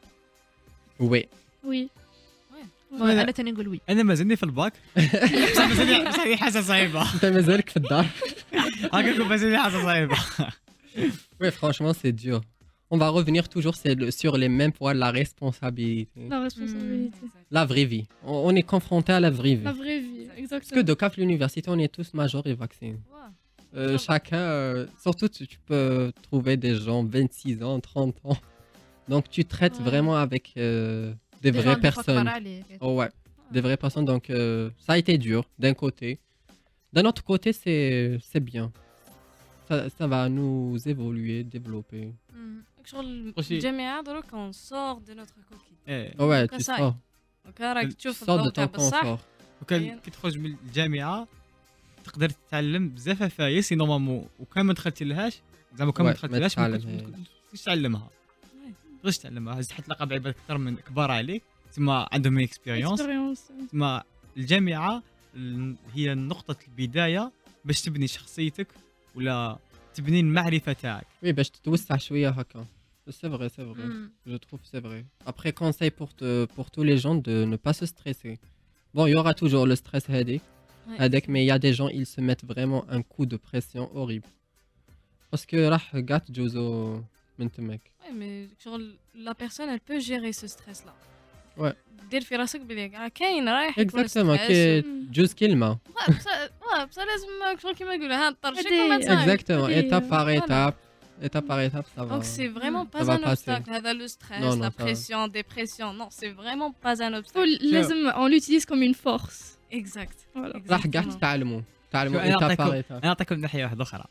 Oui. وي انا تاني نقول وي انا مازالني في الباك بصح مازالني بصح هي حاجه صعيبه أنت مازالك في الدار. هكا نقول مازالني حاجه صعيبه. Oui, franchement, c'est dur. On va revenir toujours c'est le- sur les mêmes points, la responsabilité. لا ريسبونسابيلتي La vraie vie. On, on est confronté à la vraie vie. لا فري في Parce que اكزاكتومون de CAF l'université, on est tous majeurs et vaccinés. Euh, chacun, euh, surtout tu, tu peux trouver des gens vingt-six ans, trente ans. Donc tu traites Ouais. vraiment avec euh, des vraies personnes. Oh ouais, des vraies personnes. Donc euh, ça a été dur d'un côté. D'un autre côté, c'est c'est bien. Ça, ça va nous évoluer, développer. شغل وشي- الجامعه دروك on sort de notre coquille ايه Oh ouais, Donc, tu ça- sors. دونك راك Tu تشوف sors de الضوء ton تاع بصح confort. وكان كي تخرج من الجامعه تقدر تتعلم بزاف فايس سي نورمالمون وكان ما دخلتي لهاش زعما كان ما Ouais, دخلتي ما لهاش ما كنتش- تتعلمها. ما كنتش تعلمها ما تقدرش تعلمها هز تلقى بعباد اكثر من كبار عليك تما عندهم اكسبيريونس اكسبيريونس تما الجامعه ال- هي نقطه البدايه باش تبني شخصيتك ولا تبني المعرفه تاعك. Oui, باش تتوسع شوية هكا. C'est vrai, c'est vrai. Je trouve que c'est vrai. Après, conseil pour, te- pour tous les gens de ne pas se stresser. Bon, il y aura toujours le stress headache, headache, mais il y a des gens, ils se mettent vraiment un coup de pression horrible. Parce que راح قاعد تجوزوا من تمك. Ouais, mais شغل la personne elle peut gérer ce stress là. Ouais. دير في راسك بلي راه كاين رايح يكون Exactement, stress. كي تجوز كلمة. Ouais, بصح ouais, بصح لازم شغل كيما يقولوا ها طرشك هادي- وما تصايب. Exactement, Ok, étape par voilà. étape. Étape par étape, ça va. Donc c'est vraiment pas va un passer. obstacle. هذا le stress, Non, non, la ça va. pression, dépression. Non, c'est vraiment pas un faut obstacle. لازم on l'utilise comme une force Exact. voilà راح قاعد Exactement. تتعلموا. تعلموا شو، أنا étape par أعطيكم- étape. انا نعطيكم ناحيه واحده اخرى.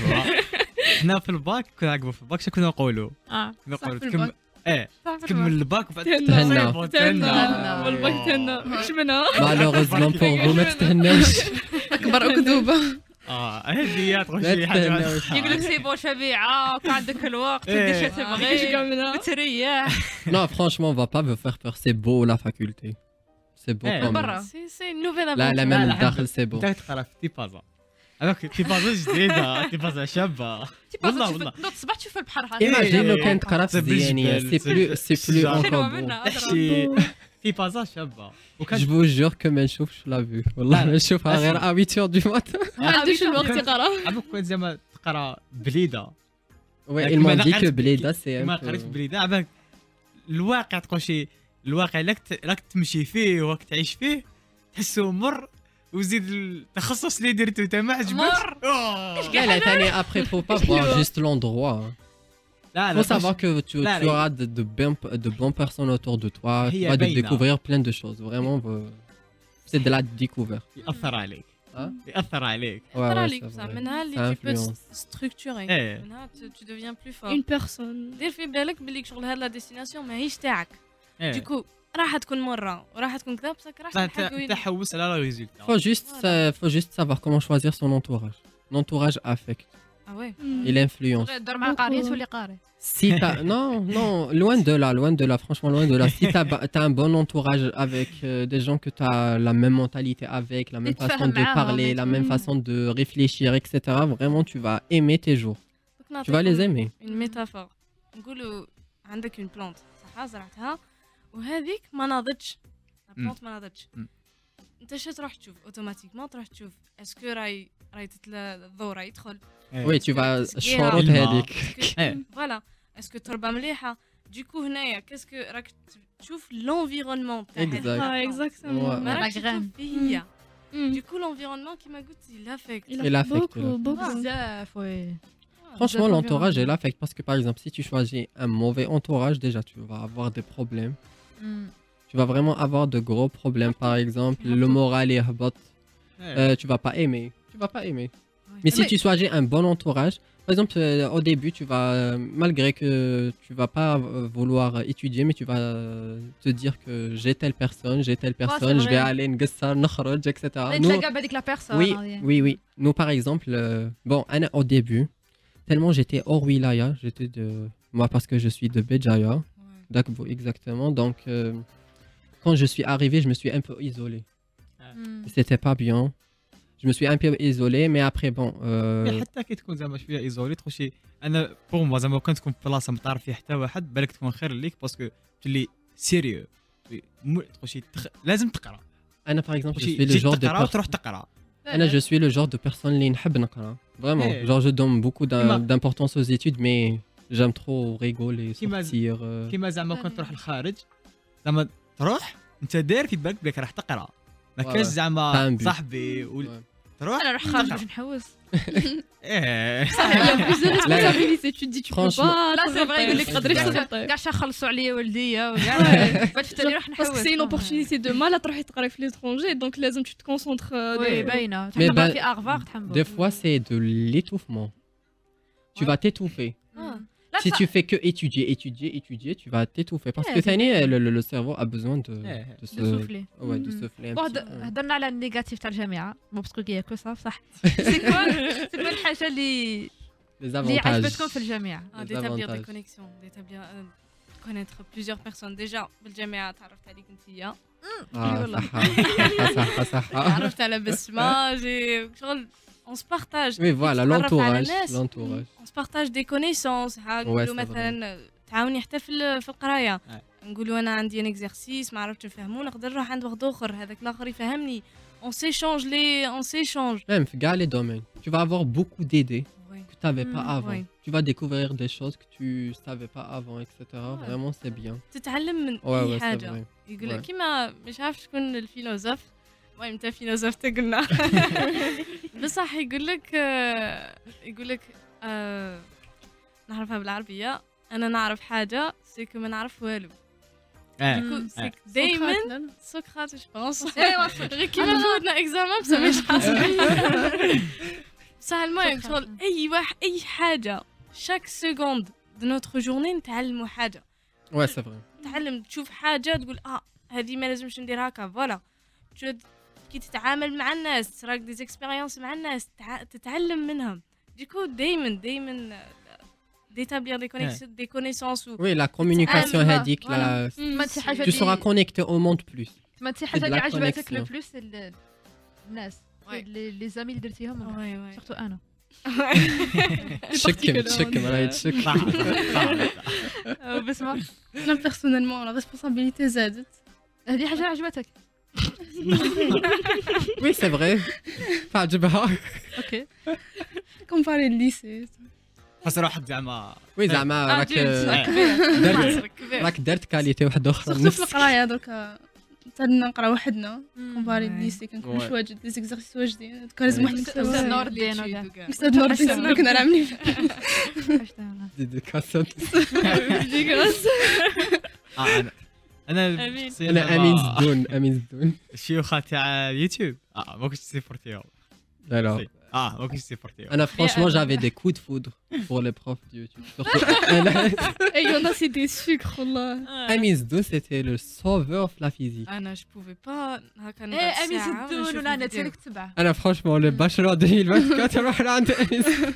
حنا في الباك كنا نعقبوا في الباك شنو كنا نقولوا؟ اه كنا صح نقولوا في تكمل الباك. ايه صح في تكمل الباك. الباك وبعد تهنى. تصيب وتهنى. تهنى والباك تهنى مش منها Malheureusement pour vous, ما تتهناوش. اكبر اكذوبه. اه هذه هي تقول لا شي حاجه تتهناوش. يقول لك سي بون شبيعه وكان عندك الوقت إيه. تدير شو مش كاع تبغي منها تريح Non, franchement, on va pas vous faire peur. C'est beau la faculté. C'est beau Eh, quand même. برا. C'est c'est une nouvelle لا لا aventure. même لا، الداخل c'est beau. انت تقرا في تيبازا هذاك تيبازا جديده تيبازا شابه والله والله نوض الصباح تشوف البحر إيه. هذا Imagine لو إيه. كان تقرا في زبل الزيانية. الجبال، C'est plus, c'est plus الشجر. encore حلوه beau. منها شي تيبازا شابه Je وكان vous jure que ما نشوفش لا فيو. والله ما نشوفها غير à huit heures du matin. ما عندوش الوقت كان- يقرا عمرك كنت زعما تقرا بليده Ouais, لكن ils ما m'ont dit قريت que بلي- Bleda c'est ما un قريت peu... بليده عباك الواقع تقول شي الواقع راك ت- راك تمشي فيه وراك تعيش فيه تحسه مر وزيد التخصص اللي درتو انت ما عجبكش مر. أوه. لا لا ثاني après faut pas voir juste l'endroit. hein. لا لا Faut savoir que tu, لا، tu لا. auras de, de, bonnes, de bonnes personnes autour de toi. Tu هي vas de باينة. découvrir plein de choses. Vraiment, euh, c'est de la découverte. ياثر عليك ها؟ ياثر عليك Ouais, تقرا ouais, ليك c'est بصح vrai. منها اللي Ça tu peux influence. te structurer. إيه. منها tu tu deviens plus fort. une personne دير في بالك بلي شغل هاد لا ديستيناسيون ماهيش تاعك. إيه. ديكو راح تكون مره وراح تكون كذا بصح راح صح، تلحق انت وين. تحوس على لا ريزولتا Faut juste, Voilà. euh, faut juste savoir comment choisir son entourage. L'entourage affecte. Ah ouais. Il influence. دور مع قاري تولي قاري Si t'as... Non, non, loin de là, loin de là, franchement, loin de là. Si t'as as un bon entourage avec euh, des gens que tu as la même mentalité avec, la même Et te façon de faire parler, marrer, la même mm. façon de réfléchir, et cetera, vraiment, tu vas aimer tes jours. دوك Tu vas les نعطيكم aimer. une métaphore. نقولوا عندك une plante صح زرعتها وهذيك ما ناضتش. la مم. plante ما ناضتش. مم. انت شو تروح تشوف اوتوماتيكمون تروح تشوف اسكو راي راي تتلا الضوء راي يدخل Oui, tu vas تسقيها. شروط الماء. هذيك. إيه. فوالا اسكو التربه مليحه دوكو هنايا كاسكو راك تشوف لونفيرونمون تاعك Exact. Ah, exactement. Ouais. ما La راكش تشوف graine. فيه هي Mm. دوكو لونفيرونمون كيما قلتي لافيكت Il Il a affecte, beaucoup, il beaucoup. بزاف وي Franchement, Bzaf l'entourage, environnement. elle affecte parce que par exemple, si tu choisis un mauvais entourage, déjà, tu vas avoir des problèmes. Tu vas vraiment avoir de gros problèmes. Par exemple, le moral est bas. Euh, tu vas pas aimer. Tu vas pas aimer. Mais si Mais- tu choisis un bon entourage, par exemple, euh, au début, tu vas, euh, malgré que tu vas pas euh, vouloir étudier, mais tu vas euh, te dire que j'ai telle personne, j'ai telle personne, je vais vrai. aller نقصر نخرج, et cetera. Nous- نتلاقى بهذيك لا بيرسون oui, oui, oui. Nous, par exemple, euh, bon, Anna, au début, tellement j'étais hors wilaya, j'étais de, moi parce que je suis de Béjaïa, d'Akbou exactement. Donc, euh, quand je suis arrivé, je me suis un peu isolé. C'était pas bien. Je me suis un peu isolé, mais après, bon. مي Euh, حتى كي تكون زعما شويه ايزولي تخشي انا بور موا زعما كان تكون في بلاصه ما تعرف فيها حتى واحد بالك تكون خير ليك باسكو تولي سيريو مو- تخشي تخ... لازم تقرا Anna, par exemple, je تخشي suis le تجي genre de تقرا personne. وتروح تقرا Anna, je suis le genre de personne اللي نحب نقرا. Vraiment. Eh. Genre, je donne beaucoup d'im- Kima. d'importance aux études, mais j'aime trop rigoler, Kima. sortir. euh, كيما زعما كنت تروح للخارج زعما تروح انت داير في بالك بلك راح تقرا ما Ouais, كاش ouais. زعما T'as un but. صاحبي و... ouais. تروح انا نروح خارج باش نحوس ايه Il y a plus de responsabilités. Tu te dis, tu peux Franchement. pas. لا سي فغي يقول لك تغدر كاع يخسر. كاع شا خلصوا عليا والديا وكاع باش تاني نروح نحوس Parce que c'est une opportunité de mal à تروحي تقراي في l'étranger, donc لازم tu te concentres. euh, وي de- باينه Mais تحمل ben, في ارفاغ تحمل Des fois, c'est de l'étouffement. Tu Ouais. vas t'étouffer. لا Si tu fais que étudier, étudier, étudier, tu vas t'étouffer. Parce Ouais, que c'est Tani, vrai. le, le- le cerveau a besoin de, Ouais. de se, دو سوفلي ouais, de Mhm. souffler un واحد petit peu. هضرنا على النيجاتيف تاع الجامعه مو باسكو كي كو صح صح سي كوا سي كوا الحاجه اللي Les اللي avantages. عجبتكم في الجامعه Ah, Les d'établir des avantages. connexions, d'établir, euh, de connaître plusieurs personnes. Déjà, بالجامعة تعرفت عليك انتيا. Ah, والله. صحة. صحة، صحة. تعرفت على بسمة، جي شغل on se partage. Oui, voilà, تتعرف على l'entourage. ناس. L'entourage. On se partage des connaissances. ها Ouais, نقولوا c'est مثلا تعاوني حتى في ال- في القراية. Ouais. نقولوا أنا عندي ان اكزرسيس ما عرفتش نفهمو نقدر نروح عند واحد آخر هذاك الآخر يفهمني. On s'échange les on s'échange. Même, gars, les domaines. Tu vas avoir beaucoup d'idées Oui. que tu n'avais pas Mm, avant. oui. Tu vas découvrir des choses que tu savais pas avant, et cetera. Ouais. Vraiment, c'est bien. تتعلم من Ouais, أي ouais, c'est حاجة. vrai. يقول لك Ouais. كيما مش عارف شكون الفيلوزوف المهم انت فيلوزوف تقولنا بصح يقول لك آه، يقول لك آه، نعرفها بالعربيه انا نعرف حاجه سيكو ما نعرف والو اه ديكو سيك سقراط، دايما لا، لا. سقراط جو بونس ايوا غير كيما فوتنا اكزامان بصح مش حاصل بصح المهم سقراط. شغل اي واحد اي حاجه شاك سكوند دو نوتر جورني نتعلموا حاجه Ouais, c'est vrai. تعلم تشوف حاجه تقول اه هذه ما لازمش ندير هكا فوالا تشوف كي تتعامل مع الناس تراك دي زيكسبيريونس مع الناس تع... تتعلم منهم ديكو دايما دايما d'établir des connexions des connaissances ou Oui, la communication, Ah, هذيك, voilà. la- ما تسي حاجه tu seras اللي connecté au monde plus. ما تسي C'est حاجه de اللي la عجبتك لو connexion. بلوس ال- الناس Ouais. لي لي زامي اللي درتيهم ouais ouais سورتو انا تشكم تشكم راهي تشكم. صح صح بسمع انا بيرسونيلمون لا ريسبونسابيلتي زادت هذه حاجه عجبتك Oui, c'est vrai. تعجبها. اوكي كومباري الليسي خاص روحك زعما Oui, زعما راك آه. درت كبير راك درت كاليتي واحدة أخرى سورتو في نفسك. القرايه دركا تاعنا نقرا وحدنا كومباري Ouais. الليسي كنكون Ouais. مش واجد دي زيكزارسيس واجدين كان لازم Ouais. واحد أستاذ يستوعب نور الدين وكاع. استاذ نور الدين كنا عاملين ديديكاسات. آه، انا انا أمين. شخصياً أنا زعما أمين زدون أمين زدون. الشيوخه تاع اليوتيوب اه ما كنتش سيبورتيهم Alors, اه ما كنتش سيبورتيهم Anna, franchement, j'avais des coups de foudre pour les profs de YouTube. Surtout, Anna- Et il y en a, c'est des sucres, wallah. Amin Zdo, c'était le sauveur de la physique. انا جو بوفي با هكا نقعد ايه امين ساعة زدون ونشوف ولا الفيديو. نتسلك تبع Anna, franchement, le bachelor deux mille vingt-quatre, روح لعند أمين زدو.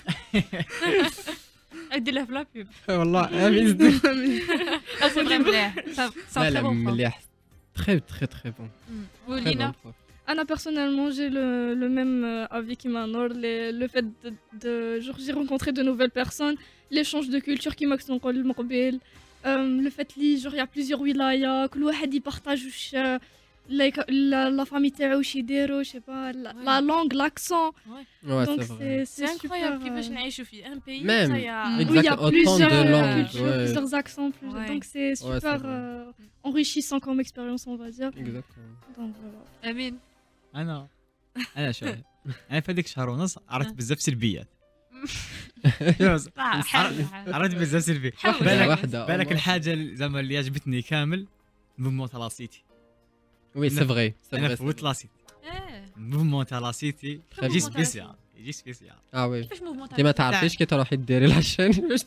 ادير له في لا بيب والله أمين زدو. سي فري مليح لا لا مليح. Très très très bon. Très bon ولينا prof. Anna, personnellement, j'ai le, le même euh, avis qu'Imanor. Le, le fait de, de genre, j'ai rencontré de nouvelles personnes, l'échange de culture qui m'a fait le fait li, genre, il y a plusieurs wilayas, que l'ouahad y partage, لا لا لا فامي تاعو واش يديروا شي با لا لونغ لاكسون Ouais, دونك c'est vrai. سي سي سي انكرويابل كيفاش نعيشوا في ان بيي Même. Oui, Exact, il y a autant plusieurs de euh, langues, cultures, ouais. plusieurs accents, plus- Ouais. donc c'est Ouais, super c'est vrai. euh, enrichissant comme expérience, on va dire. Exactement. Donc voilà. امين انا انا شوف انا في هذيك شهر ونص عرفت بزاف سلبيات عرفت بزاف سلبيات واحدة بالك واحدة. بالك الحاجه اللي زعما اللي عجبتني كامل موفمون تاع لاسيتي Oui, c'est vrai. C'est انا vrai. c'est فوت vrai. لاسيتي ايه موفمون تاع لاسيتي Très يجي bon, سبيسيال يجي سبيسيال Ah oui. كيفاش موفمون انت ما تعرفيش كي تروحي ديري لاشين باش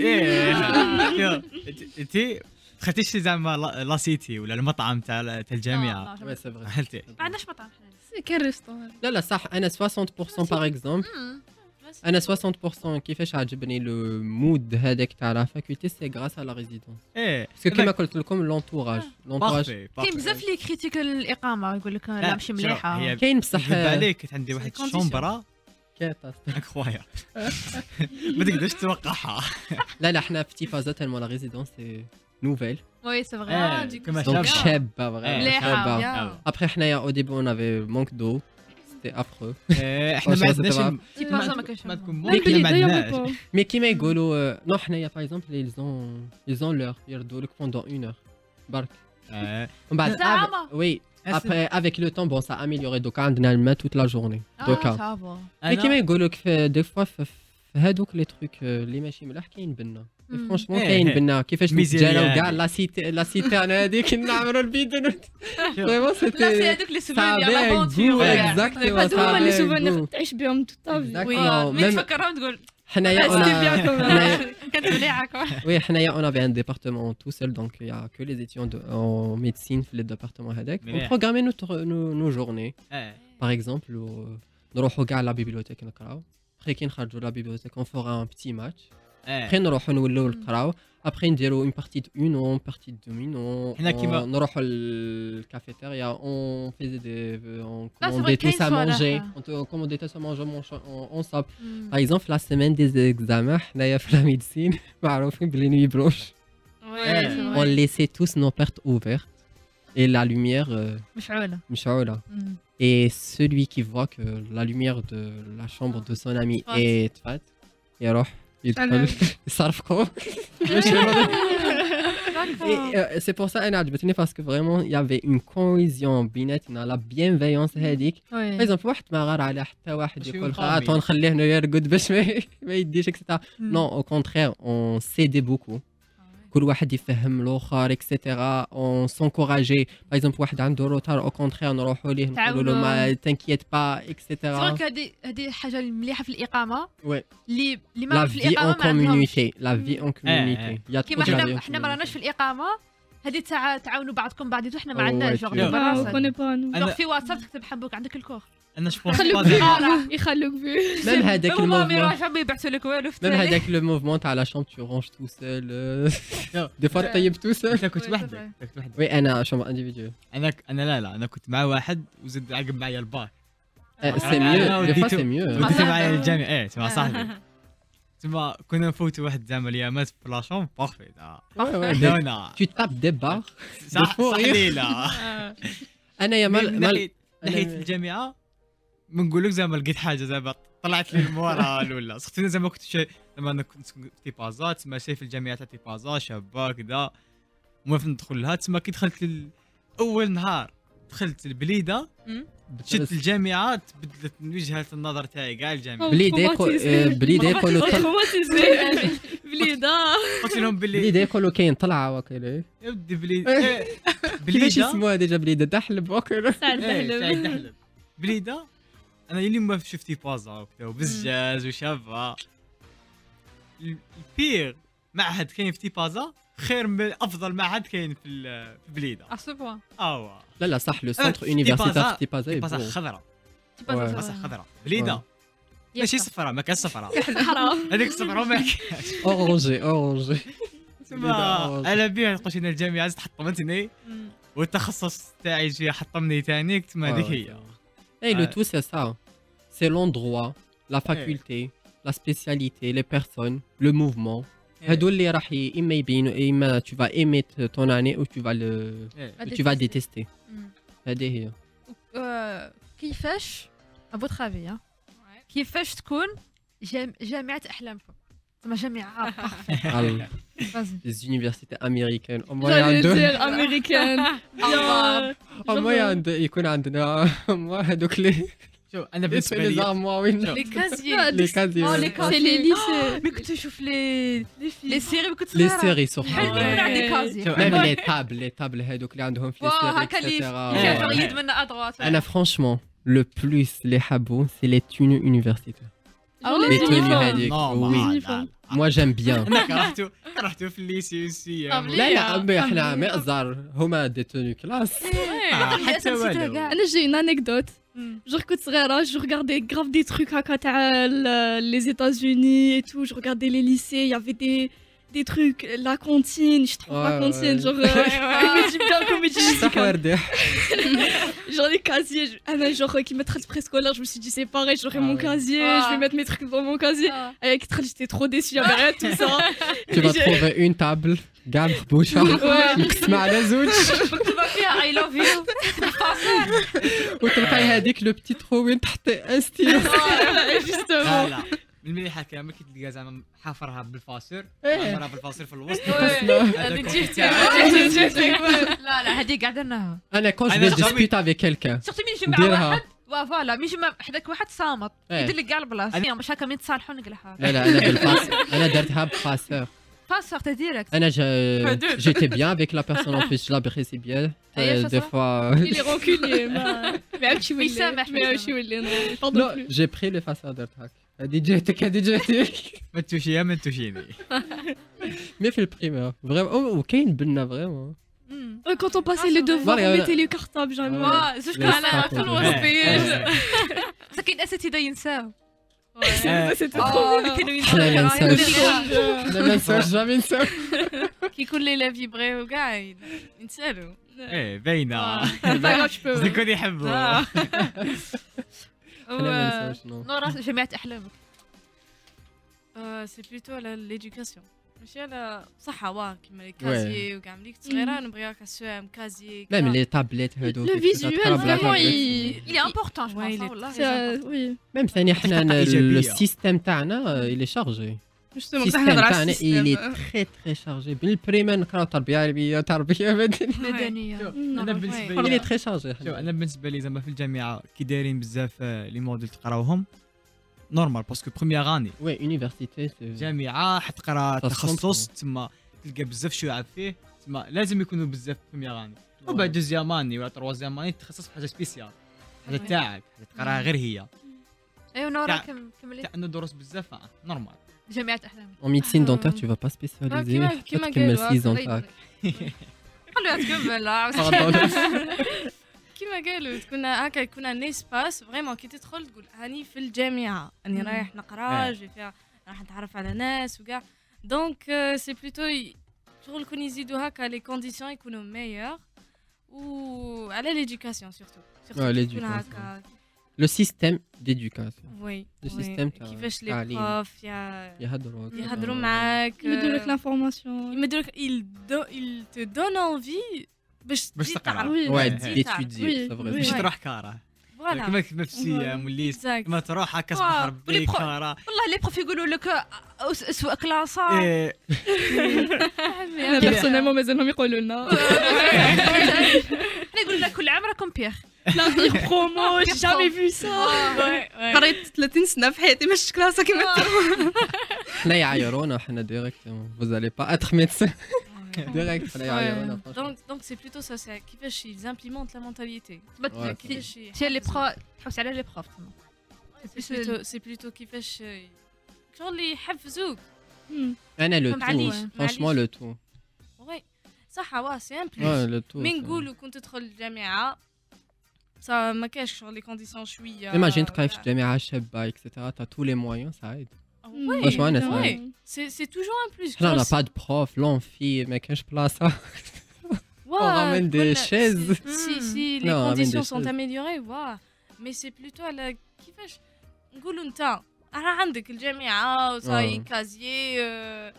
ايه انت خدتيش زعما لا- لاسيتي ولا المطعم تاع تاع الجامعه Ouais, c'est vrai. هلتي ما عندناش مطعم حنا C'est quel restaurant? لا لا صح انا ستين بالمية باغ اكزومبل انا ستين بالمية كيفاش عجبني لو مود هذاك تاع لا فاكولتي سي غراس على لا ريزيدونس ايه باسكو كيما قلت لكم لونتوراج لونتوراج بارفي كاين بزاف اللي كريتيك الاقامه يقول لك لا ماشي مليحه هي كاين بصح نكذب عليك كانت عندي واحد condition. الشومبرا كاتاس. انكرويا ما تقدرش توقعها لا لا حنا في تيفازا تالمون لا ريزيدونس سي نوفيل وي سي فغي إيه، du coup, كما دونك شابة. شابه إيه، مليحة. شابه شابة. ابخي حنايا او ديبي اون افي مونك دو سيتي افرو إيه، احنا ما واش عندناش تبع؟ الم- تي ما بازا ما تكون- كانش ما تكون Même ممكن Billy, ما d'ailleurs, عندناش ou pas? مي كيما يقولوا نو حنايا باغ اكزومبل ils ont ils ont l'heure يردوا لك بوندون اون اور برك إيه. ومن بعد ساعة ave- ما. oui après avec le temps bon ça a amélioré دوكا عندنا الماء toute la journée دوكا صافا مي أنا- كيما يقولوا لك في دي فوا في في هادوك لي تروك اللي ماشي ملاح كاين بنا مم. فرونشمون إيه، كاين إيه. بنا كيفاش ميزيريا نتجاراو كاع هادي. لا سيتي لا سيتي انا هذيك نعمروا البيدن فريمون لا سي سيتي هذوك لي ça سوفونير avait ديال un لافونتور goût Yeah. exactement هادو هما اللي ça avait un سوفونير goût. تعيش بهم توت تا في. Exactement. وي même- مي تفكرهم تقول حنايا C'était bien on a quand même. حنايا- كانت مليحه كوا Oui, حنايا on avait un département tout seul donc il y a que les étudiants de- en médecine في le département هذاك on مليح. programmait notre nos, nos journées إيه. par exemple و- نروحوا كاع لا بيبليوتيك نقراو après كي نخرجوا لا بيبليوتيك on fera un petit match إيه. après نروحوا نولوا نقراو après نديروا une partie de une ou une partie de deux minutes حنا كيما- on نروحوا للكافيتيريا on faisait des on c'est vrai, commandait tous كاين à manger صراحة. on te- commandait tous à manger on- ensemble par exemple la semaine des examens حنايا في la médecine معروفين بلي nuit blanche on laissait tous nos portes ouvertes et la lumière euh, مشعوله مشعولة. مم. Et celui qui voit que la lumière de la chambre de son ami Tfat. est tfat, يروح يدخل أنا- يصرفقوا. Et euh, c'est pour ça أنا عجبتني parce que vraiment il y avait une cohésion بيناتنا la bienveillance هذيك. Par وي exemple واحد ما غار على حتى واحد باش يقول يكون خاطر قومي. نخليه هنا يرقد باش ما ما يديش et cetera. Non au contraire on s'aidait beaucoup. كل واحد يفهم الاخر اكسيتيرا اون سونكوراجي باغ اكزومبل واحد عنده روتار او كونترير نروحوا ليه نقولوا له ما تنكيت با اكسيتيرا دونك هذه هذه حاجه المليحه في الاقامه وي اللي اللي لا ما في في اون الاقامه ما عندهمش كوميونيتي لا في اون كوميونيتي يا كيما حنا حنا ما راناش في الاقامه هذه تاع تعاونوا بعضكم بعضيتو حنا ما أو عندناش واي جوغ تيو. Ah, on براسك connaît pas nous. جوغ أنا- في واتساب تكتب حبوك عندك الكور انا شبون يخلوك في يخلوك في. ميم هذاك هما ما الموفمون يروحوا ما يبعثوا لك والو في ميم التالي. هذاك لو موفمون تاع لا شامب تو رونج تو سول دي فوا طيب تو سول انت كنت وي، وحدك صافي. كنت وحدك وي انا شامبر انديفيديو انا انا لا لا انا كنت مع واحد وزد عقب معايا الباك سي أنا- أنا ميو دي فوا وديتو- سي ميو مع وديت صاحبي. معايا للجامع ايه تما صاحبي تما كنا نفوتوا واحد زعما اليامات في لاشوم بارفي لا tu tapes des barres صح فوق. صح ليلى انا يا من مال مال ناحيه ناحيه الجامعه ما نقول لك زعما لقيت حاجه زعما طلعت لي المورال ولا سختي زعما كنت شي زعما انا كنت في بازات تما شايف في الجامعه تاع بازا شابه كذا موافق ندخل لها تما كي دخلت ال- اول نهار دخلت البليده شفت الجامعه تبدلت من وجهه النظر تاعي كاع الجامعه بليدة يقو- آه، بليدة يقولوا طل- Traumatisé. بليدة. قلت لهم باللي بليدة يقولوا كاين طلعة وكيله يا ودي بليده إيه، كيفاش بليده يسموها ديجا بليدة دحلب وكيله سعد إيه، دحلب. سعيد دحلب بليده انا اللي ما شفتي بازا وكذا وبزجاج وشافه ال- البير معهد كاين في تيبازا خير من افضل معهد كاين في ال- في بليده اسوبوا اه لا لا صح لو آه، سونتر يونيفرسيتير في تيبازا تيبازا يبو. خضراء Ouais. تيبازا خضراء بليده ماشي صفراء ما كان صفراء صحراء. هذيك صفراء ما كانش اورانجي اورانجي تما انا بيها قلت انا الجامعه زدت حطمتني والتخصص تاعي جي حطمني ثاني تما هذيك هي اي لو آه. تو سي سا سي لوندروا لا فاكولتي لا سبيسياليتي لي بيرسون لو موفمون هادو اللي راح ي- اما يبينوا اما tu vas aimer ton année ou tu vas le إيه. tu vas détester هذه هي. آه، كيفاش ابوتر افي ها كيفاش تكون جام- جامعه احلامكم زعما جامعه الله. بارفي Les universités américaines. Au moins, J'allais عندهم- dire américaine. Bien. au moins عند- يكون عندنا moi هذوك لي شوف انا بالنسبه لي لي زارموا وين لي كازيي لي كازي. Oh, les C'est les lycées. مي كنت نشوف لي لي سيري كنت لي صغيره سيري سورتو. حلو يكون عندي كازي شوف Même انا les tables, les tables هذوك اللي عندهم في لي واه سيري هكا اللي إكسيتيرا. كيفاش يد من ادروات انا franchement le plus les حبوا c'est les tenues universitaires. Ah Les ouais, tenues uniformes. هذيك. نورمال. Oui. لا، لا. Moi j'aime bien. انا كرهته كرهته في الليسي والسي طب ليه؟ لا لا أمي احنا مأزر هما دي توني كلاس. حتى والو انا j'ai une anecdote. Genre quand صغيرة, je regardais grave des trucs هكا تاع ال- les États-Unis et tout. Je regardais les lycées, il y avait des des trucs, la cantine, je trouve la Ouais, cantine, ouais. genre euh, comédie bien, comédie صح musicale. وردي. Genre les casiers, je- ah non, genre euh, qui mettent le préscolaire, je me suis dit c'est pareil, j'aurai Ah mon ouais. casier, Ah. je vais mettre mes trucs dans mon casier. Avec Trell, j'étais trop déçue, il y avait rien de tout ça. Tu vas J'ai- trouver une table كاع مخبوشة مقسمة على زوج مكتوبه فيها اي لاف يو وتلقاي هذيك لو بتي ترو وين تحطي ان ستيلو. Justement. لا لا من المليحه كان ما كتلقى زعما حافرها بالفاسور إيه. حافرها بالفاسور في الوسط هذيك جبتي لا لا هذه قاعده لنا انا كون أنا جو جامي- ديسكوت افيك كيلكان سورتو مين يجي مع نديرها. واحد وا فوالا مين يجي مع حداك واحد صامت إيه. يدير لك كاع البلاصه باش هكا مين تصالحوا نقلها لا لا انا بالفاس انا درتها بفاسور. فاسور تا ديريكت انا j'étais bien avec la personne en plus je l'apprécie bien. أيه، Euh, des شو fois Il est rancunier, ما ما عرفتش يولي يسامح، ما عرفتش يولي pardon non plus. j'ai pris les façons درت هاك. هذه جهتك هذه جهتك. ما تشيها ما تشيني مي في البريمير فريمون وكاين بنا فريمون. Euh, Quand on passait les devoirs, Voilà, on voilà. mettait les cartables jamais. Ouais. وا زوج لا، انا صح. في الوسط ساكن اساتذه ينساو C'était trop اه bien. كانوا حنا ما ينساو ننساوش. حنا ما ننساوش جامي نساو. كي يكون ليلة فيبري وكاع ينسالوا ايه باينه C'est pas grave, je peux. يكون يحبوا حنا ما ننساوش نو. نورا جامعه احلامك سي بلوتو على ليدوكاسيون ماشي على صحة واه كيما لي كازيي وكاع ملي كنت صغيرة نبغي هكا سوام كازيي ميم لي تابليت هذوك. Le visuel, vraiment, il. اللي امبورطون جو Ouais, il بونس est والله c'est- Oui, ميم ثاني حنا إيجابية. السيستم تاعنا اللي شارجي. justement. السيستم تاعنا اللي تري تري شارجي بالبريمير نقراو تربيه علميه تربيه مدنيه. مدنيه انا بالنسبه اللي لي تري شارجي. شوف انا بالنسبه لي زعما في الجامعه كي دايرين بزاف آه، لي موديل تقراوهم نورمال باسكو بروميير اني وي يونيفرسيتي سي جامعه حتقرا تصميم. تخصص تما تلقى بزاف شعب فيه تما لازم يكونوا بزاف بروميير اني وبعد دوزيام اني ولا تروازيام اني تخصص في حاجه سبيسيال حاجه تاعك حاجه تقراها غير هي ايوا نورا تاع- كم كملي تاع انه دروس بزاف آه، نورمال جامعه احلامك En médecine Ah. dentaire, tu vas pas spécialiser. كيما- كيما Tu كمل قالوا، six ans الله تاعك. خليها تكمل لا Pardon. كيما قالوا تكون هكا يكون ان اسباس فريمون كي تدخل تقول هاني في الجامعه اني رايح نقرا آه. جي فيها راح نتعرف على ناس وكاع دونك سي بلوتو شغل كون يزيدوا هكا لي كونديسيون يكونوا ميور و على ليدوكاسيون سورتو Ouais, سورتو l'éducation. هكا Le système d'éducation. وي Le système تاع كيفاش لي التعليم. بروف يا يهضروا. يهضروا معاك يمدوا لك l'information. يمدوا لك il do- il te donne envie باش باش تزيد تقرا. تعرف. Oui. Ouais, Ouais. d'étudier, Oui, c'est vrai. oui. باش Ouais. تروح كاره فوالا كما كما في السيام والليس Exact. كما تروح هكا آه، صباح ولي ربي برو- كاره والله لي بروف يقولوا لك أس- اسوء كلاسه إيه، أنا personnellement مازالهم يقولوا لنا. حنا يقولوا لك كل عام راكم بيغ La pire promo, j'ai jamais vu ça. قريت ثلاثين سنه في حياتي ما شفتش كلاسه كيما حنا يعايرونا حنا ديريكتومون. Vous allez pas être médecin. Direct حنا يعايرونا. franchement. Donc, donc c'est plutôt ça, c'est كيفاش ils implémentent la mentalité. Ouais. كيفاش تي لي بروف تحوس على لي بروف تما c'est plutôt c'est plutôt كيفاش شغل يحفزوك. أنا le معليش، tout. معليش. Franchement le tout. وي صح واه سي ان Ouais, بلوس. le tout. مي c'est- نقولوا كنت تدخل الجامعة ça ما كاش شغل لي كونديسيون شوية. Imagine تقراي في جامعة شابة et cetera. T'as tous les moyens, ça aide. Ouais, Franchement, أنا ouais. سعيد. C'est c'est toujours un plus. حنا on n'a pas de prof, l'amphi, ما كانش بلاصة. Ouais, on ramène des كنا- chaises. Si, si, si les Non, on ramène conditions des sont chaises. améliorées, voilà. Mais c'est plutôt على كيفاش نقولوا انت راه عندك الجامعة وصاي Ouais. كازيي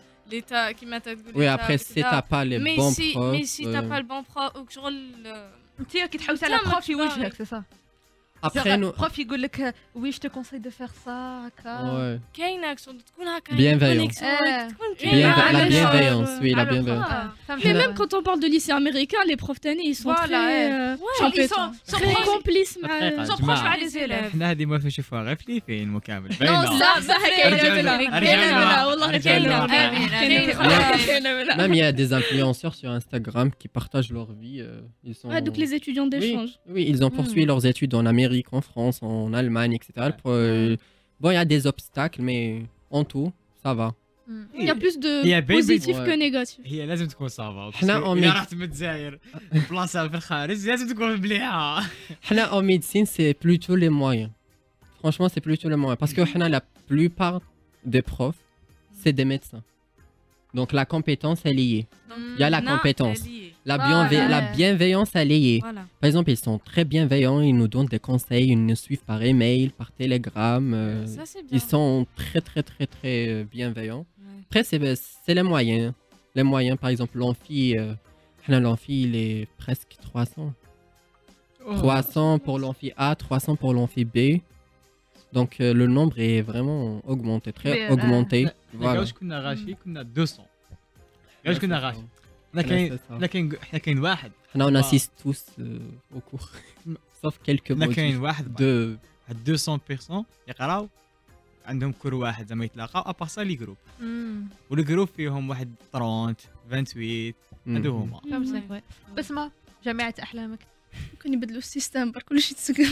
ليتا كيما تقول Oui, après, si t'as pas les mais bons si, profs. mais si t'as euh, pas le bon prof ou que شغل انت كي تحوس على أنت ما بروف تبغي. يوجهك سي صا Après, nous. بروف يقول لك وي جو كونساي دو فير سا هكا Ouais. كاينه شغل تكون هكا Bienveillant. آه. تكون Bien, كاينه la على bienveillance, شعور. oui, la على bienveillance. خا- فهمت. Mais même quand on parle de lycée américain, les profs tannés, ils sont Voilà, très, ouais. euh, Genre, ils compétents. sont- sont très proches. complices. مع- دقيقة. Ils sont جماعة. proches مع les élèves. احنا هذه ما نشوفوها غير في الفيلم مكامل Non, باينة. لا لا كاينه أرجع منها لها. كاينه أرجع منها لها. والله أرجع كاينه لها. منها آمين، كاينه آمين. منها كاينه منها Même il y a des influenceurs sur Instagram qui partagent leur vie. euh, ils sont... Ouais, donc les étudiants Oui, d'échange. oui, ils ont poursuivi Mm. leurs études en Amérique, en France, en Allemagne, et cetera. Pour, euh, Bon, il y a des obstacles, mais en tout, ça va. Il y a plus de هي baby- positif Ouais. que négatif. هي لازم تكون صعبة. إحنا باسكو أمي- إذا رحت من الجزائر بلاصة في الخارج لازم تكون مليحة. Hna, en médecine, c'est plutôt les moyens. Franchement, c'est plutôt les moyens. Parce que hna, la plupart des profs, c'est des médecins. Donc la compétence, elle y est. Il y a la compétence. La, bienve- Voilà. la bienveillance, elle y est. Voilà. Par exemple, ils sont très bienveillants, ils nous donnent des conseils, ils nous suivent par email, par télégramme. euh, Ça, c'est bien. ils sont très, très, très, très euh, bienveillants. Ouais. Après, c'est c'est les moyens. Les moyens, par exemple, l'amphi, euh, hna, l'amphi, il est presque trois cents. trois cents pour l'amphi A, trois cents pour l'amphi B. Donc euh, le nombre est vraiment augmenté, très Mais, euh, augmenté. voilà. Voilà. واش كنا غاشي كنا مئتين. واش كنا غاشي. حنا Ouais, كاين c'est ça. حنا كاين حنا كاين واحد. Hna, on Ah. assiste tous euh, au cours. Sauf quelques حنا كاين motifs واحد de... واحد مئتين بيرسون يقراو عندهم كور واحد زعما يتلاقاو ابار سا لي جروب. والجروب فيهم واحد ثلاثين ثمانية وعشرين هادو Mhm. هما. فهمتك. بسمة جامعة أحلامك ممكن يبدلوا السيستم بر كلشي تسكن.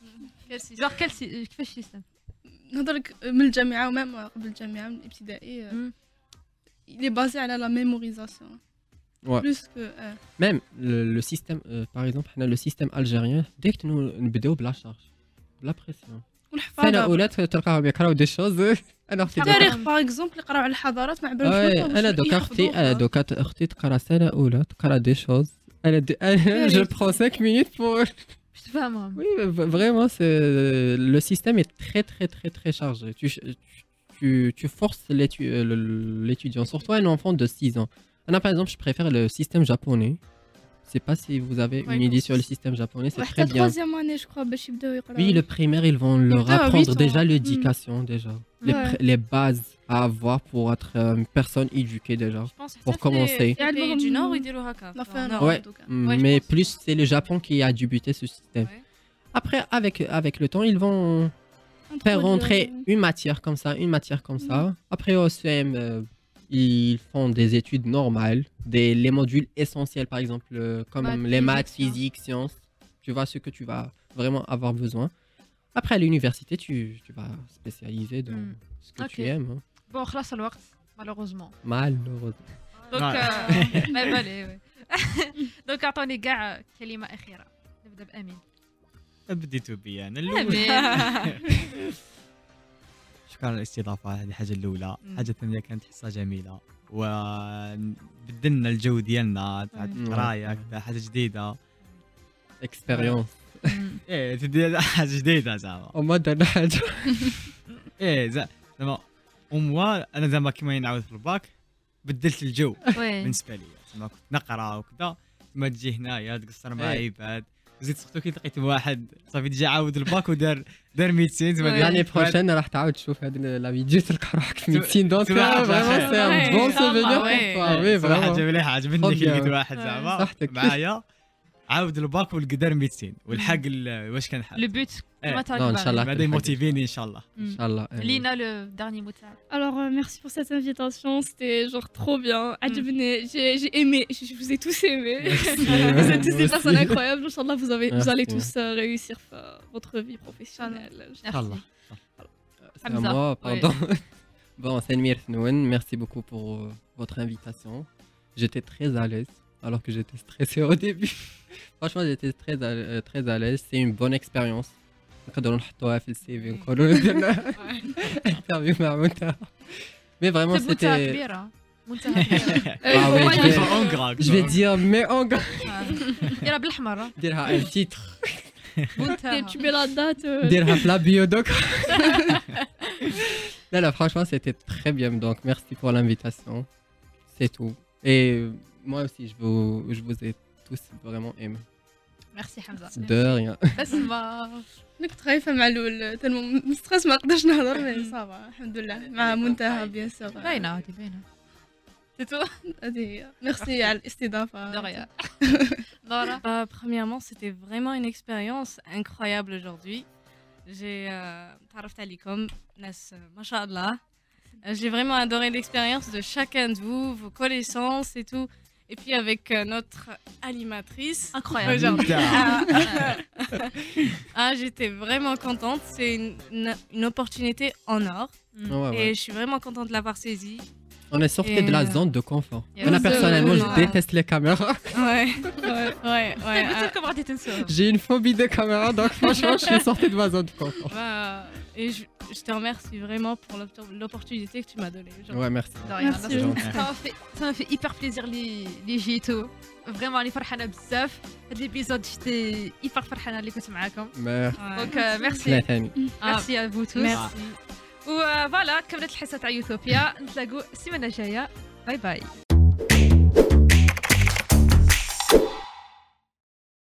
جوغ كيل سي- كيفاش السيستم نهضرك من الجامعة ومام قبل الجامعة من الابتدائي. مم. Il est basé على la mémorisation. Ouais. Plus que. euh, Même le, le système, euh, par exemple, hna, le système algérien, dès que nous نبداو بلا charge, بلا pression. والحفاظة. سنة أولى تلقاهم يقراو دي شوز أنا أختي التاريخ باغ اكزومبل يقراو على الحضارات ما عبالهمش Ouais, بالهم أنا واش دوكا يحفظوه أختي أنا ولا. دوكا أختي تقرا سنة أولى تقرا دي شوز أنا دي- أنا je prends cinq minutes pour باش تفهمهم Oui, v- vraiment, c'est- le système est très, très, très, très chargé. Tu, tu, tu forces l'étu- euh, le- l'étudiant, surtout un enfant de six ans. Là, par exemple, je préfère le système japonais. Je sais pas si vous avez Ouais, une idée non, sur le c'est- système japonais, c'est وحتى très bien. troisième année je crois باش يبداو يقراو. Oui, le primaire, ils vont leur Ah, apprendre huit ans. déjà l'éducation, déjà. Les, Ouais. pr- les bases à avoir pour être euh, une personne éduquée, déjà. Je pense que Pour ça, commencer. les- les pays du Nord, ils diront haka. On a fait un Nord. Nord, Ouais. en tout cas. Mm, Ouais, je mais pense. plus, c'est le Japon qui a débuté ce système. Ouais. Après, avec, avec le temps, ils vont faire Introduire, rentrer euh, une matière comme ça, une matière comme ça. Après, au C M, euh, ils font des études normales, des, les modules essentiels, par exemple, euh, comme Maths, les physique, maths, physique, sciences. Tu vois ce que tu vas vraiment avoir besoin. Après, à l'université, tu, tu vas spécialiser dans Mm. ce que Ok. tu aimes. hein. بون خلاص الوقت malheureusement Malheureusement. دونك Ouais. ما بالي وي دونك اعطوني كاع كلمة أخيرة نبدا بأمين بديتو بيا انا الاول. أمين شكرا على الاستضافه، هذه الحاجه الاولى. الحاجه الثانيه كانت حصه جميله وبدلنا الجو ديالنا تاع مم. القرايه كذا حاجه جديده. Expérience. ايه تدي حاجه جديده زعما. وما درنا حاجة. ايه زع- زعما وموا انا زعما كيما نعاود في الباك بدلت الجو وي بالنسبه لي. زعما كنت نقرا وكذا ما تجي هنايا تقصر مع إيه. عباد. زيد سورتو كي لقيت واحد صافي ديجا عاود الباك ودار دار ميديسين زعما Ouais. دار- L'année prochaine, راح تعاود تشوف هذه لا فيديو تلقى روحك في سمع- médecine. Donc, سمع- euh, vraiment, c'est un Ouais. bon Inch'Allah, souvenir pour ouais. toi. إيه، Oui, صراحه vraiment. حاجه مليحه عجبتني Trop كي لقيت bien. واحد Ouais. زعما صحتك. معايا عاود الباك ولقى ميديسين والحق ال- واش كان حق لو بوت إيه. كما Non, Inch'Allah. بعدا يموتيفيني ان شاء الله. إن شاء الله. لينا لو دارني مو تاعك Alors, euh, merci pour cette invitation, c'était genre trop bien. عجبني, j'ai j'ai aimé, je, je vous ai tous aimé. Vous êtes tous des Moi personnes aussi. incroyables. Inch'Allah, vous, avez, vous Merci. allez tous euh, réussir euh, votre vie professionnelle. ان شاء الله. C'est à Hamza. moi, Ouais. pardon. Bon, Senmir Thnoun, merci beaucoup pour euh, votre invitation. J'étais très à l'aise, alors que j'étais stressé au début. Franchement, j'étais très à, euh, très à l'aise. C'est une bonne expérience. نقدروا نحطوها في السي في نقولوا درنا انترفيو مع منتهى. Mais vraiment, منتهى c'était. كبيرة منتهى كبيرة Ah ouais, je vais, En gras, je vais quoi. dire, mais en gras, يلا بالحمر ديرها un titre, منتهى Tu mets la date. euh, ديرها في la bio doc. Là, là, franchement, c'était très bien. Donc, merci pour l'invitation. C'est tout. Et euh, moi aussi, je vous, je vous ai tous vraiment aimé. ميرسي حمزه De rien. اسمع انا كنت خايفه مع الاول تالمو مستريس ما نقدرش نهضر مي صافا الحمد لله مع منتهى بيان سور باينه هادي باينه سيتو هذه هي ميرسي على الاستضافه دغيا Laura. Bah, premièrement, c'était vraiment une expérience incroyable aujourd'hui. J'ai تعرفت عليكم ناس ما شاء الله. J'ai vraiment adoré l'expérience de chacun de vous, vos connaissances et tout. Et puis avec euh, notre animatrice. Incroyable. aujourd'hui. Ah, j'étais vraiment contente. C'est une, une, une opportunité en or. Ouais, ouais. Et je suis vraiment contente de l'avoir saisie. On est sorti Et, de la euh, zone de confort. Yeah. Moi, personnellement, je Ouais. déteste les caméras. Ouais, ouais, ouais. ouais. قلت لكم غادي تنسوها J'ai une phobie des caméras, donc franchement, je suis sorti de ma zone de confort. Bah, et je, je te remercie vraiment pour l'oppor- l'opportunité que tu m'as donnée. Genre. Ouais, merci. دغيا Merci. Ça m'a fait ça m'a fait hyper plaisir اللي اللي جيتو فريمون راني فرحانه بزاف هاد ليبيزود جيت hyper فرحانه اللي كنت معاكم Merci. Ouais. دونك ميرسي ثلاثاني. ميرسي ا فو توس Merci. وفوالا كملت الحصه تاع يوتوبيا نتلاقوا السيمانه الجايه باي باي